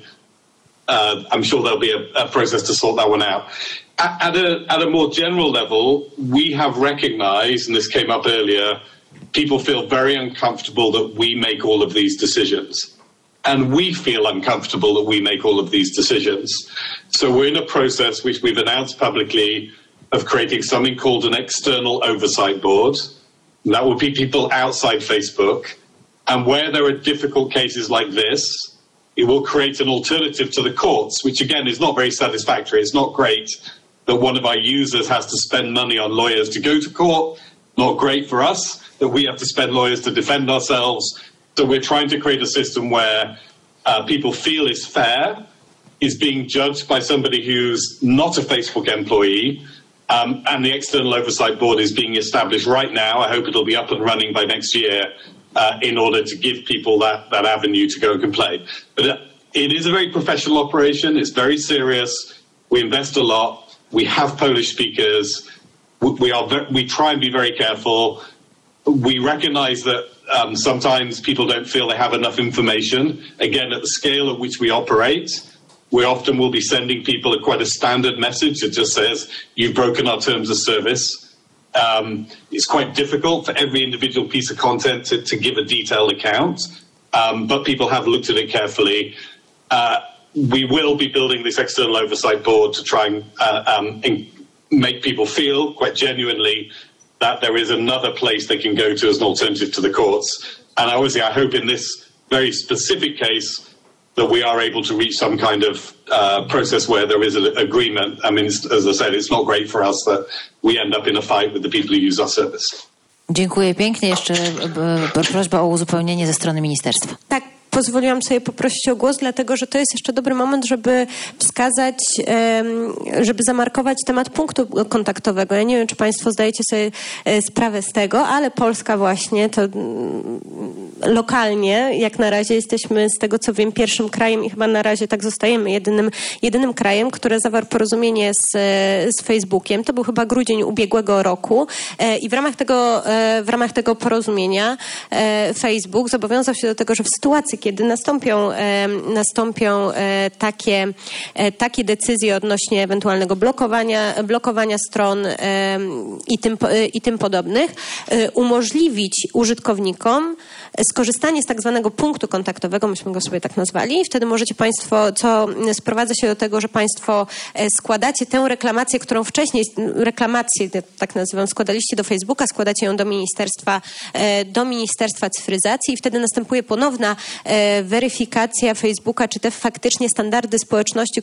I'm sure there'll be a process to sort that one out. At a more general level, we have recognized, and this came up earlier, people feel very uncomfortable that we make all of these decisions. And we feel uncomfortable that we make all of these decisions. So we're in a process which we've announced publicly of creating something called an external oversight board. And that will be people outside Facebook. And where there are difficult cases like this, it will create an alternative to the courts, which again is not very satisfactory. It's not great that one of our users has to spend money on lawyers to go to court. Not great for us that we have to spend lawyers to defend ourselves. So we're trying to create a system where people feel is fair, is being judged by somebody who's not a Facebook employee, and the external oversight board is being established right now. I hope it'll be up and running by next year in order to give people that avenue to go and complain. But it is a very professional operation. It's very serious. We invest a lot. We have Polish speakers. We try and be very careful. We recognize that sometimes people don't feel they have enough information. Again, at the scale at which we operate, we often will be sending people quite a standard message that just says, you've broken our terms of service. It's quite difficult for every individual piece of content to give a detailed account, but people have looked at it carefully. We will be building this external oversight board to try and make people feel quite genuinely that there is another place they can go to as an alternative to the courts. And obviously, I hope in this very specific case that we are able to reach some kind of process where there is an agreement. I mean, as I said, it's not great for us that we end up in a fight with the people who use our service. Dziękuję pięknie. Jeszcze prośba o uzupełnienie ze strony ministerstwa. Tak. Pozwoliłam sobie poprosić o głos, dlatego że to jest jeszcze dobry moment, żeby wskazać, żeby zamarkować temat punktu kontaktowego. Ja nie wiem, czy Państwo zdajecie sobie sprawę z tego, ale Polska właśnie to lokalnie, jak na razie jesteśmy, z tego co wiem, pierwszym krajem i chyba na razie tak zostajemy, jedynym krajem, które zawarł porozumienie z Facebookiem. To był chyba grudzień ubiegłego roku i w ramach tego porozumienia Facebook zobowiązał się do tego, że w sytuacji, kiedy nastąpią takie decyzje odnośnie ewentualnego blokowania stron i tym podobnych, umożliwić użytkownikom skorzystanie z tak zwanego punktu kontaktowego, myśmy go sobie tak nazwali. Wtedy możecie Państwo, co sprowadza się do tego, że Państwo składacie tę reklamację, którą wcześniej, tak nazywam, składaliście do Facebooka, składacie ją do Ministerstwa Cyfryzacji i wtedy następuje ponowna weryfikacja Facebooka, czy te faktycznie standardy społeczności,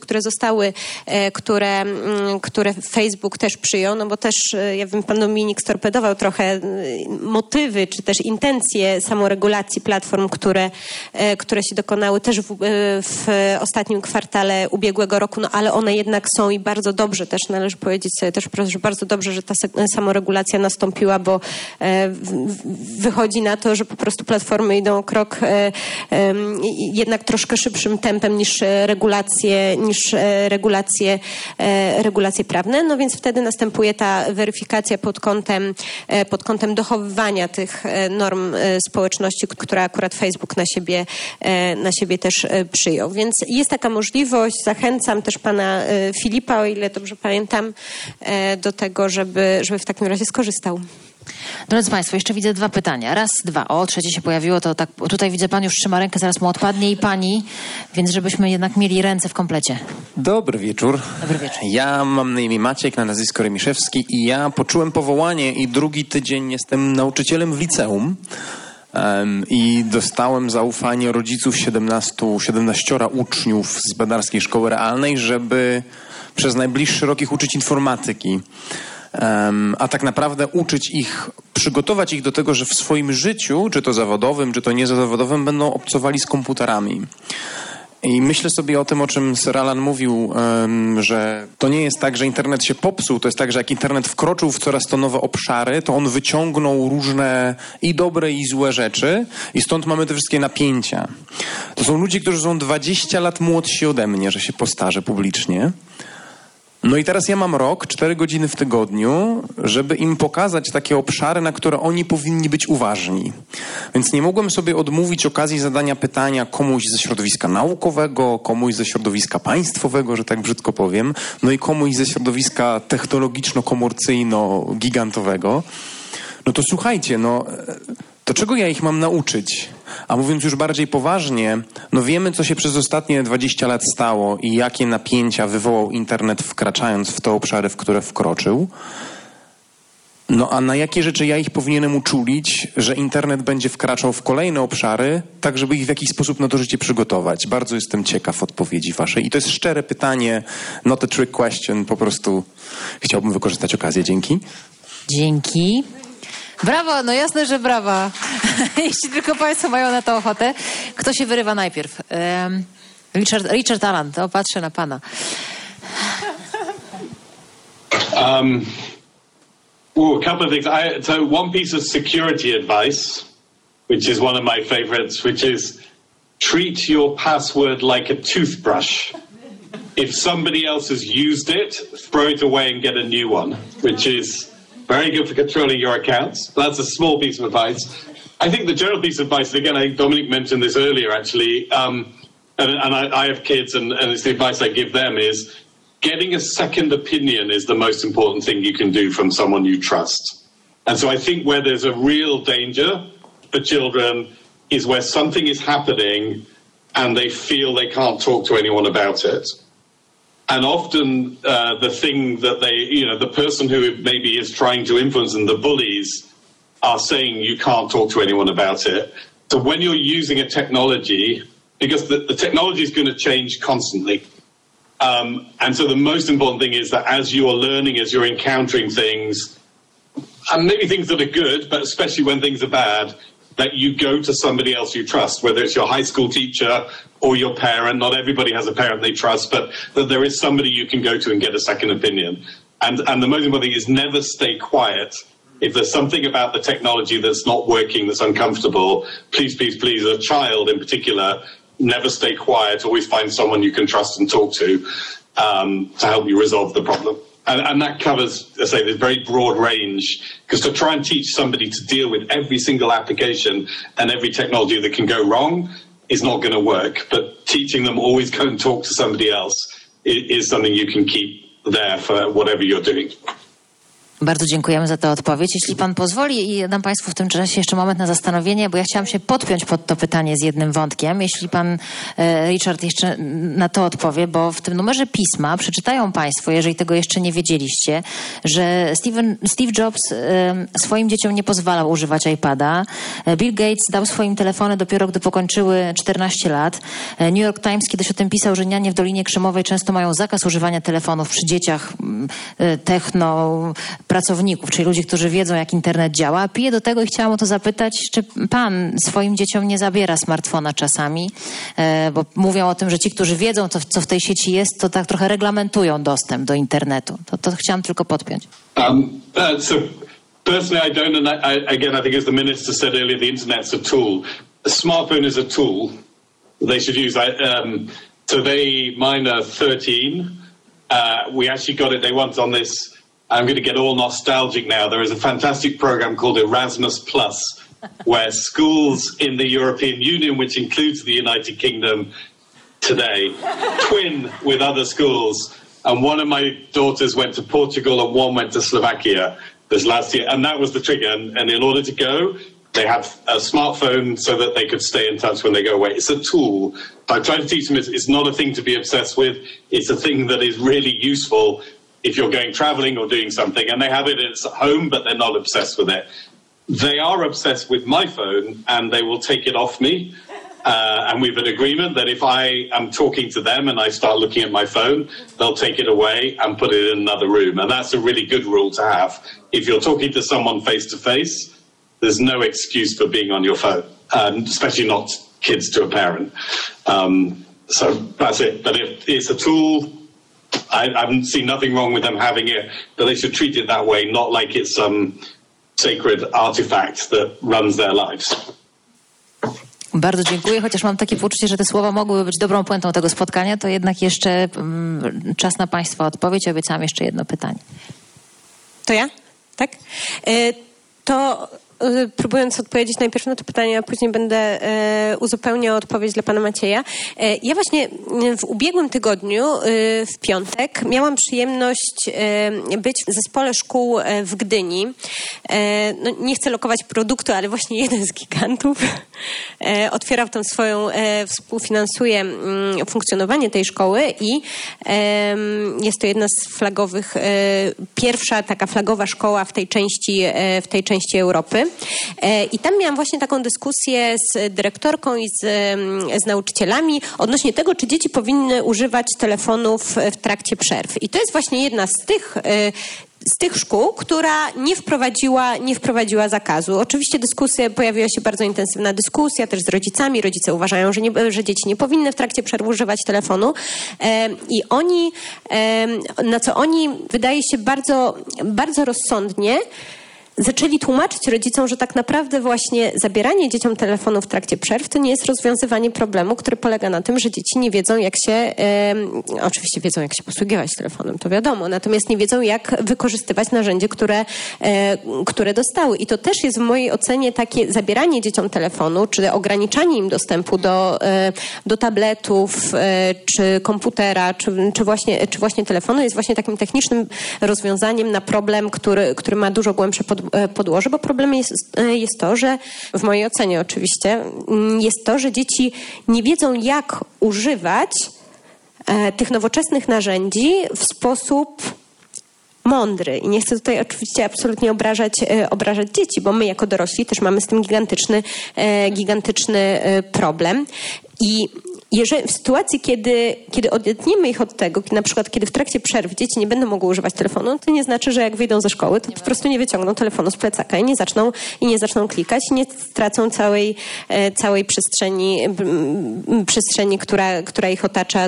które Facebook też przyjął, no bo też, ja wiem, pan Dominik storpedował trochę motywy, czy też intencje samoregulacji platform, które się dokonały też w ostatnim kwartale ubiegłego roku, no ale one jednak są i bardzo dobrze też, należy powiedzieć sobie też, że bardzo dobrze, że ta samoregulacja nastąpiła, bo wychodzi na to, że po prostu platformy idą o krok jednak troszkę szybszym tempem niż regulacje prawne. No więc wtedy następuje ta weryfikacja pod kątem dochowywania tych norm społeczności, które akurat Facebook na siebie też przyjął. Więc jest taka możliwość. Zachęcam też pana Filipa, o ile dobrze pamiętam, do tego, żeby w takim razie skorzystał. Drodzy Państwo, jeszcze widzę 2 pytania. Raz, 2. O, trzecie się pojawiło, to tak. Tutaj widzę, pan już trzyma rękę, zaraz mu odpadnie i pani, więc żebyśmy jednak mieli ręce w komplecie. Dobry wieczór. Dobry wieczór. Ja mam na imię Maciek, na nazwisko Remiszewski i ja poczułem powołanie i drugi tydzień jestem nauczycielem w liceum. I dostałem zaufanie rodziców 17 uczniów z Bedarskiej Szkoły Realnej, żeby przez najbliższy rok ich uczyć informatyki. A tak naprawdę uczyć ich, przygotować ich do tego, że w swoim życiu, czy to zawodowym, czy to niezawodowym, będą obcowali z komputerami. I myślę sobie o tym, o czym Sir Alan mówił, że to nie jest tak, że internet się popsuł, to jest tak, że jak internet wkroczył w coraz to nowe obszary, to on wyciągnął różne i dobre, i złe rzeczy i stąd mamy te wszystkie napięcia. To są ludzie, którzy są 20 lat młodsi ode mnie, że się postarzę publicznie. No i teraz ja mam rok, 4 godziny w tygodniu, żeby im pokazać takie obszary, na które oni powinni być uważni. Więc nie mogłem sobie odmówić okazji zadania pytania komuś ze środowiska naukowego, komuś ze środowiska państwowego, że tak brzydko powiem, no i komuś ze środowiska technologiczno-komercyjno-gigantowego. No to słuchajcie, to czego ja ich mam nauczyć? A mówiąc już bardziej poważnie, wiemy, co się przez ostatnie 20 lat stało i jakie napięcia wywołał internet, wkraczając w te obszary, w które wkroczył. A na jakie rzeczy ja ich powinienem uczulić, że internet będzie wkraczał w kolejne obszary, tak żeby ich w jakiś sposób na to życie przygotować? Bardzo jestem ciekaw odpowiedzi waszej. I to jest szczere pytanie, not a trick question, po prostu chciałbym wykorzystać okazję. Dzięki. Dzięki. Brawo, no jasne, że brawa. Jeśli tylko Państwo mają na to ochotę. Kto się wyrywa najpierw? Richard Alan, to patrzę na pana. A couple of things. So one piece of security advice, which is one of my favorites, which is treat your password like a toothbrush. If somebody else has used it, throw it away and get a new one, which is very good for controlling your accounts. That's a small piece of advice. I think the general piece of advice, and again, I think Dominic mentioned this earlier actually, and I have kids and it's the advice I give them is getting a second opinion is the most important thing you can do from someone you trust. And so I think where there's a real danger for children is where something is happening and they feel they can't talk to anyone about it. And often the thing that the person who maybe is trying to influence them, the bullies, are saying you can't talk to anyone about it. So when you're using a technology, because the technology is going to change constantly. And so the most important thing is that as you're learning, as you're encountering things, and maybe things that are good, but especially when things are bad, that you go to somebody else you trust, whether it's your high school teacher or your parent. Not everybody has a parent they trust, but that there is somebody you can go to and get a second opinion. And the most important thing is never stay quiet. If there's something about the technology that's not working, that's uncomfortable, please, please, please, as a child in particular, never stay quiet. Always find someone you can trust and talk to help you resolve the problem. And that covers, I say, this very broad range, because to try and teach somebody to deal with every single application and every technology that can go wrong is not going to work. But teaching them always go and talk to somebody else is something you can keep there for whatever you're doing. Bardzo dziękujemy za tę odpowiedź. Jeśli pan pozwoli i dam państwu w tym czasie jeszcze moment na zastanowienie, bo ja chciałam się podpiąć pod to pytanie z jednym wątkiem. Jeśli pan Richard jeszcze na to odpowie, bo w tym numerze pisma przeczytają państwo, jeżeli tego jeszcze nie wiedzieliście, że Steve Jobs swoim dzieciom nie pozwalał używać iPada. Bill Gates dał swoim telefony dopiero gdy pokończyły 14 lat. New York Times kiedyś o tym pisał, że nianie w Dolinie Krzemowej często mają zakaz używania telefonów przy dzieciach pracowników, czyli ludzi, którzy wiedzą, jak internet działa. Piję do tego i chciałam o to zapytać, czy pan swoim dzieciom nie zabiera smartfona czasami, bo mówią o tym, że ci, którzy wiedzą, co w tej sieci jest, to tak trochę reglamentują dostęp do internetu. To chciałam tylko podpiąć. So personally, I don't, and I think as the minister said earlier, the internet's a tool. A smartphone is a tool they should use. Mine are 13. We actually got it, they want on this. I'm going to get all nostalgic now. There is a fantastic program called Erasmus Plus, where schools in the European Union, which includes the United Kingdom today, twin with other schools. And one of my daughters went to Portugal and one went to Slovakia. this last year, and that was the trigger. And in order to go, they have a smartphone so that they could stay in touch when they go away. It's a tool. I try to teach them it's not a thing to be obsessed with. It's a thing that is really useful if you're going traveling or doing something. And they have it at home, but they're not obsessed with it. They are obsessed with my phone, and they will take it off me. And we've an agreement that if I am talking to them and I start looking at my phone, they'll take it away and put it in another room. And that's a really good rule to have. If you're talking to someone face to face, there's no excuse for being on your phone, especially not kids to a parent. So that's it. But if it's a tool, I haven't seen nothing wrong with them having it, but they should treat it that way, not like it's some sacred artifact that runs their lives. Bardzo dziękuję, chociaż mam takie poczucie, że te słowa mogłyby być dobrą puentą tego spotkania, to jednak jeszcze czas na Państwa odpowiedź. Obiecałam jeszcze jedno pytanie. To ja? Tak? To próbując odpowiedzieć najpierw na to pytanie, a później będę uzupełniał odpowiedź dla pana Macieja. Ja właśnie w ubiegłym tygodniu, w piątek, miałam przyjemność być w zespole szkół w Gdyni. No, nie chcę lokować produktu, ale właśnie jeden z gigantów otwierał tam swoją, współfinansuje funkcjonowanie tej szkoły i jest to jedna z flagowych, pierwsza taka flagowa szkoła w tej części Europy. I tam miałam właśnie taką dyskusję z dyrektorką i z nauczycielami odnośnie tego, czy dzieci powinny używać telefonów w trakcie przerw. I to jest właśnie jedna z tych szkół, która nie wprowadziła zakazu. Oczywiście pojawiła się bardzo intensywna dyskusja też z rodzicami. Rodzice uważają, że dzieci nie powinny w trakcie przerwy używać telefonu. I na co oni, wydaje się, bardzo, bardzo rozsądnie zaczęli tłumaczyć rodzicom, że tak naprawdę właśnie zabieranie dzieciom telefonu w trakcie przerw to nie jest rozwiązywanie problemu, który polega na tym, że dzieci nie wiedzą, oczywiście wiedzą, jak się posługiwać telefonem, to wiadomo, natomiast nie wiedzą, jak wykorzystywać narzędzie, które dostały. I to też jest w mojej ocenie takie zabieranie dzieciom telefonu, czy ograniczanie im dostępu do tabletów, czy komputera, czy właśnie telefonu jest właśnie takim technicznym rozwiązaniem na problem, który ma dużo głębsze podłoże, bo problemem jest to, że w mojej ocenie oczywiście jest to, że dzieci nie wiedzą, jak używać tych nowoczesnych narzędzi w sposób mądry. I nie chcę tutaj oczywiście absolutnie obrażać dzieci, bo my jako dorośli też mamy z tym gigantyczny problem. I w sytuacji, kiedy odetniemy ich od tego, na przykład kiedy w trakcie przerw dzieci nie będą mogły używać telefonu, to nie znaczy, że jak wyjdą ze szkoły, to po prostu nie wyciągną telefonu z plecaka i nie zaczną klikać, nie stracą całej przestrzeni, która ich otacza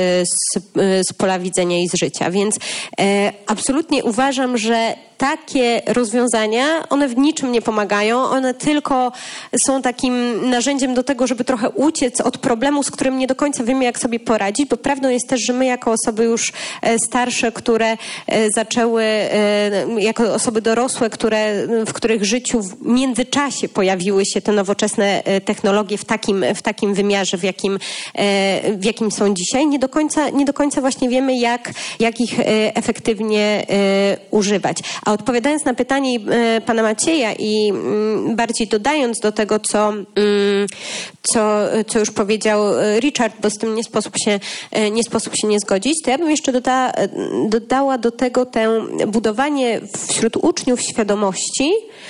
z pola widzenia i z życia. Więc absolutnie uważam, że takie rozwiązania, one w niczym nie pomagają, one tylko są takim narzędziem do tego, żeby trochę uciec od problemu, z którym nie do końca wiemy, jak sobie poradzić, bo prawdą jest też, że my jako osoby już starsze, które zaczęły, jako osoby dorosłe, w których życiu w międzyczasie pojawiły się te nowoczesne technologie w takim wymiarze, w jakim są dzisiaj, nie do końca właśnie wiemy, jak ich efektywnie używać. A odpowiadając na pytanie pana Macieja i bardziej dodając do tego, co już powiedział Richard, bo z tym nie sposób się nie zgodzić, to ja bym jeszcze dodała do tego budowanie wśród uczniów świadomości,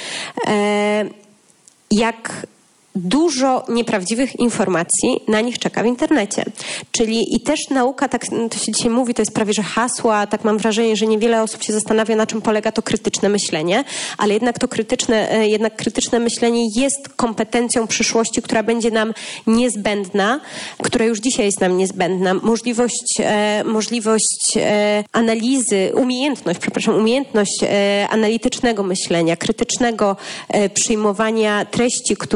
jak dużo nieprawdziwych informacji na nich czeka w internecie. Czyli i też nauka, tak to się dzisiaj mówi, to jest prawie że hasła, tak mam wrażenie, że niewiele osób się zastanawia, na czym polega to krytyczne myślenie, ale jednak to krytyczne myślenie jest kompetencją przyszłości, która będzie nam niezbędna, która już dzisiaj jest nam niezbędna. Możliwość analizy, umiejętność analitycznego myślenia, krytycznego przyjmowania treści,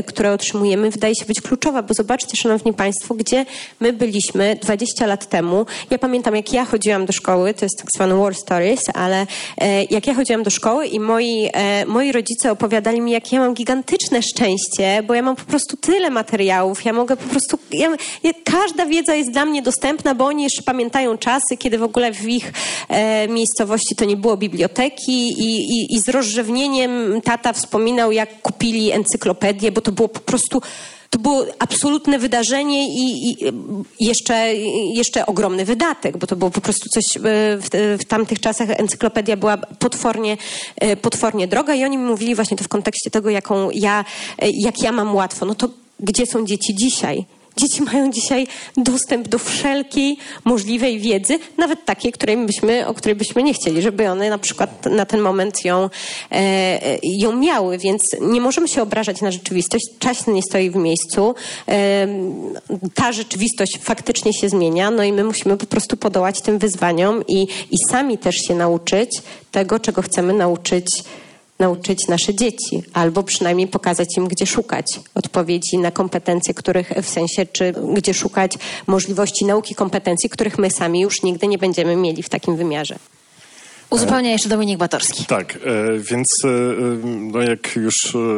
które otrzymujemy, wydaje się być kluczowa, bo zobaczcie, szanowni państwo, gdzie my byliśmy 20 lat temu. Ja pamiętam, jak ja chodziłam do szkoły, to jest tak zwane war stories, ale jak ja chodziłam do szkoły i moi rodzice opowiadali mi, jak ja mam gigantyczne szczęście, bo ja mam po prostu tyle materiałów, ja mogę po prostu... każda wiedza jest dla mnie dostępna, bo oni jeszcze pamiętają czasy, kiedy w ogóle w ich miejscowości to nie było biblioteki i z rozrzewnieniem tata wspominał, jak kupili encyklopedię, bo to było po prostu... To było absolutne wydarzenie i jeszcze ogromny wydatek, bo to było po prostu coś, w tamtych czasach encyklopedia była potwornie droga i oni mi mówili właśnie to w kontekście tego, jak ja mam łatwo. No to gdzie są dzieci dzisiaj? Dzieci mają dzisiaj dostęp do wszelkiej możliwej wiedzy, nawet takiej, o której byśmy nie chcieli, żeby one na przykład na ten moment ją miały, więc nie możemy się obrażać na rzeczywistość. Czas nie stoi w miejscu. Ta rzeczywistość faktycznie się zmienia, no i my musimy po prostu podołać tym wyzwaniom i sami też się nauczyć tego, czego chcemy nauczyć nasze dzieci, albo przynajmniej pokazać im, gdzie szukać odpowiedzi na kompetencje, czy gdzie szukać możliwości nauki kompetencji, których my sami już nigdy nie będziemy mieli w takim wymiarze. Uzupełnia jeszcze Dominik Batorski. Tak, więc no jak już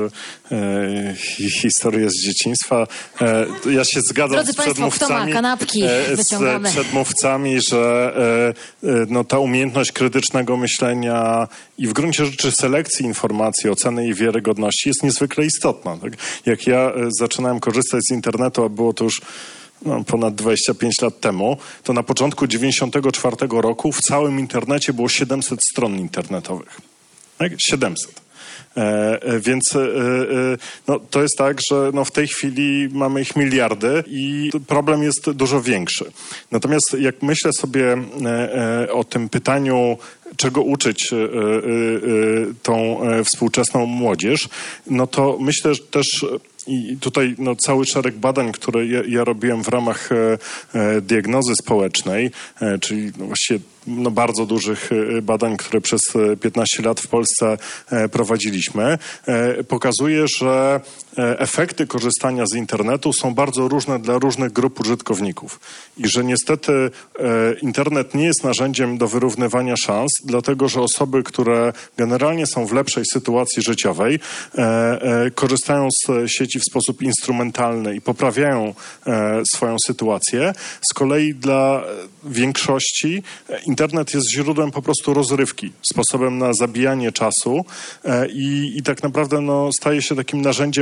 historia z dzieciństwa, ja się zgadzam Drodzy z Państwo, przedmówcami, kto ma kanapki, wyciągamy. z przedmówcami, że no, ta umiejętność krytycznego myślenia i w gruncie rzeczy selekcji informacji, oceny jej wiarygodności jest niezwykle istotna. Tak? Jak ja zaczynałem korzystać z internetu, a było to już ponad 25 lat temu, to na początku 1994 roku w całym internecie było 700 stron internetowych. Tak? 700. Więc no, to jest tak, że no, w tej chwili mamy ich miliardy i problem jest dużo większy. Natomiast jak myślę sobie o tym pytaniu, czego uczyć tą współczesną młodzież, no to myślę że też i tutaj no, cały szereg badań, które ja robiłem w ramach diagnozy społecznej, czyli no, właściwie no, bardzo dużych badań, które przez 15 lat w Polsce prowadziliśmy, pokazuje, że efekty korzystania z internetu są bardzo różne dla różnych grup użytkowników. I że niestety internet nie jest narzędziem do wyrównywania szans, dlatego że osoby, które generalnie są w lepszej sytuacji życiowej, korzystają z sieci w sposób instrumentalny i poprawiają swoją sytuację. Z kolei dla większości internet jest źródłem po prostu rozrywki, sposobem na zabijanie czasu i tak naprawdę no, staje się takim narzędziem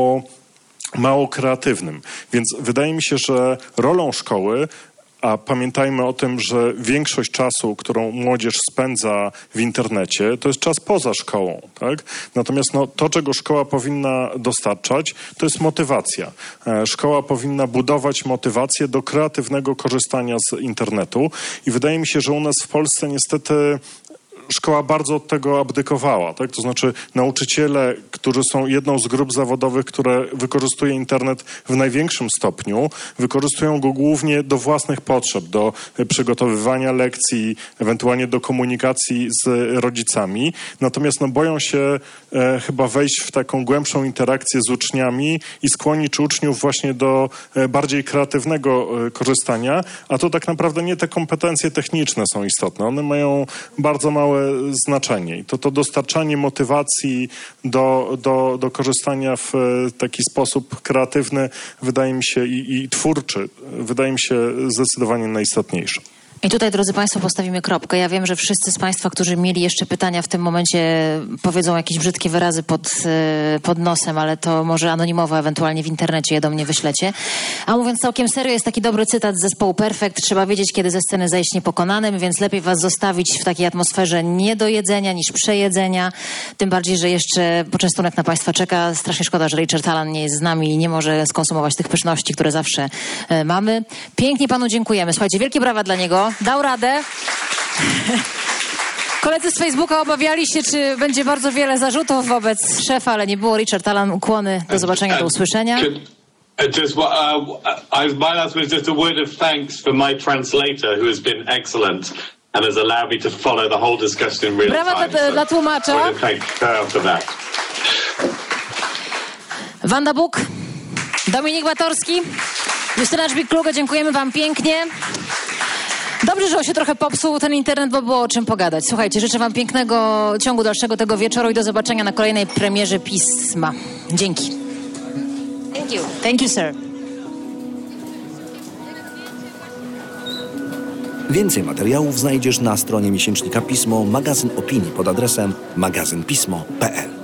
mało kreatywnym. Więc wydaje mi się, że rolą szkoły, a pamiętajmy o tym, że większość czasu, którą młodzież spędza w internecie, to jest czas poza szkołą, tak? Natomiast no, to, czego szkoła powinna dostarczać, to jest motywacja. Szkoła powinna budować motywację do kreatywnego korzystania z internetu i wydaje mi się, że u nas w Polsce niestety szkoła bardzo od tego abdykowała, tak? To znaczy nauczyciele, którzy są jedną z grup zawodowych, które wykorzystuje internet w największym stopniu, wykorzystują go głównie do własnych potrzeb, do przygotowywania lekcji, ewentualnie do komunikacji z rodzicami. Natomiast no, boją się chyba wejść w taką głębszą interakcję z uczniami i skłonić uczniów właśnie do bardziej kreatywnego korzystania, a to tak naprawdę nie te kompetencje techniczne są istotne. One mają bardzo małe znaczenie. I to dostarczanie motywacji do korzystania w taki sposób kreatywny wydaje mi się i twórczy, wydaje mi się zdecydowanie najistotniejsze. I tutaj, drodzy Państwo, postawimy kropkę. Ja wiem, że wszyscy z Państwa, którzy mieli jeszcze pytania w tym momencie, powiedzą jakieś brzydkie wyrazy pod nosem, ale to może anonimowo, ewentualnie w internecie je do mnie wyślecie. A mówiąc całkiem serio, jest taki dobry cytat z zespołu Perfect. Trzeba wiedzieć, kiedy ze sceny zejść niepokonanym, więc lepiej Was zostawić w takiej atmosferze nie do jedzenia niż przejedzenia. Tym bardziej, że jeszcze poczęstunek na Państwa czeka. Strasznie szkoda, że Richard Tallon nie jest z nami i nie może skonsumować tych pyszności, które zawsze mamy. Pięknie Panu dziękujemy. Słuchajcie, wielkie brawa dla niego. Dał radę. Koledzy z Facebooka obawiali się, czy będzie bardzo wiele zarzutów wobec szefa, ale nie było. Richard Tallon, ukłony. Do zobaczenia, do usłyszenia. My last was just a word of thanks for my translator, who has been excellent and has allowed me to follow the whole discussion in real time. Brawa dla tłumacza. Thank her for that. Wanda Buk, Dominik Batorski, Justyna Żbik-Kluge, dziękujemy wam pięknie. Dobrze, że on się trochę popsuł ten internet, bo było o czym pogadać. Słuchajcie, życzę wam pięknego ciągu dalszego tego wieczoru i do zobaczenia na kolejnej premierze Pisma. Dzięki. Thank you. Thank you, sir. Więcej materiałów znajdziesz na stronie miesięcznika Pismo, magazyn opinii pod adresem magazynpismo.pl.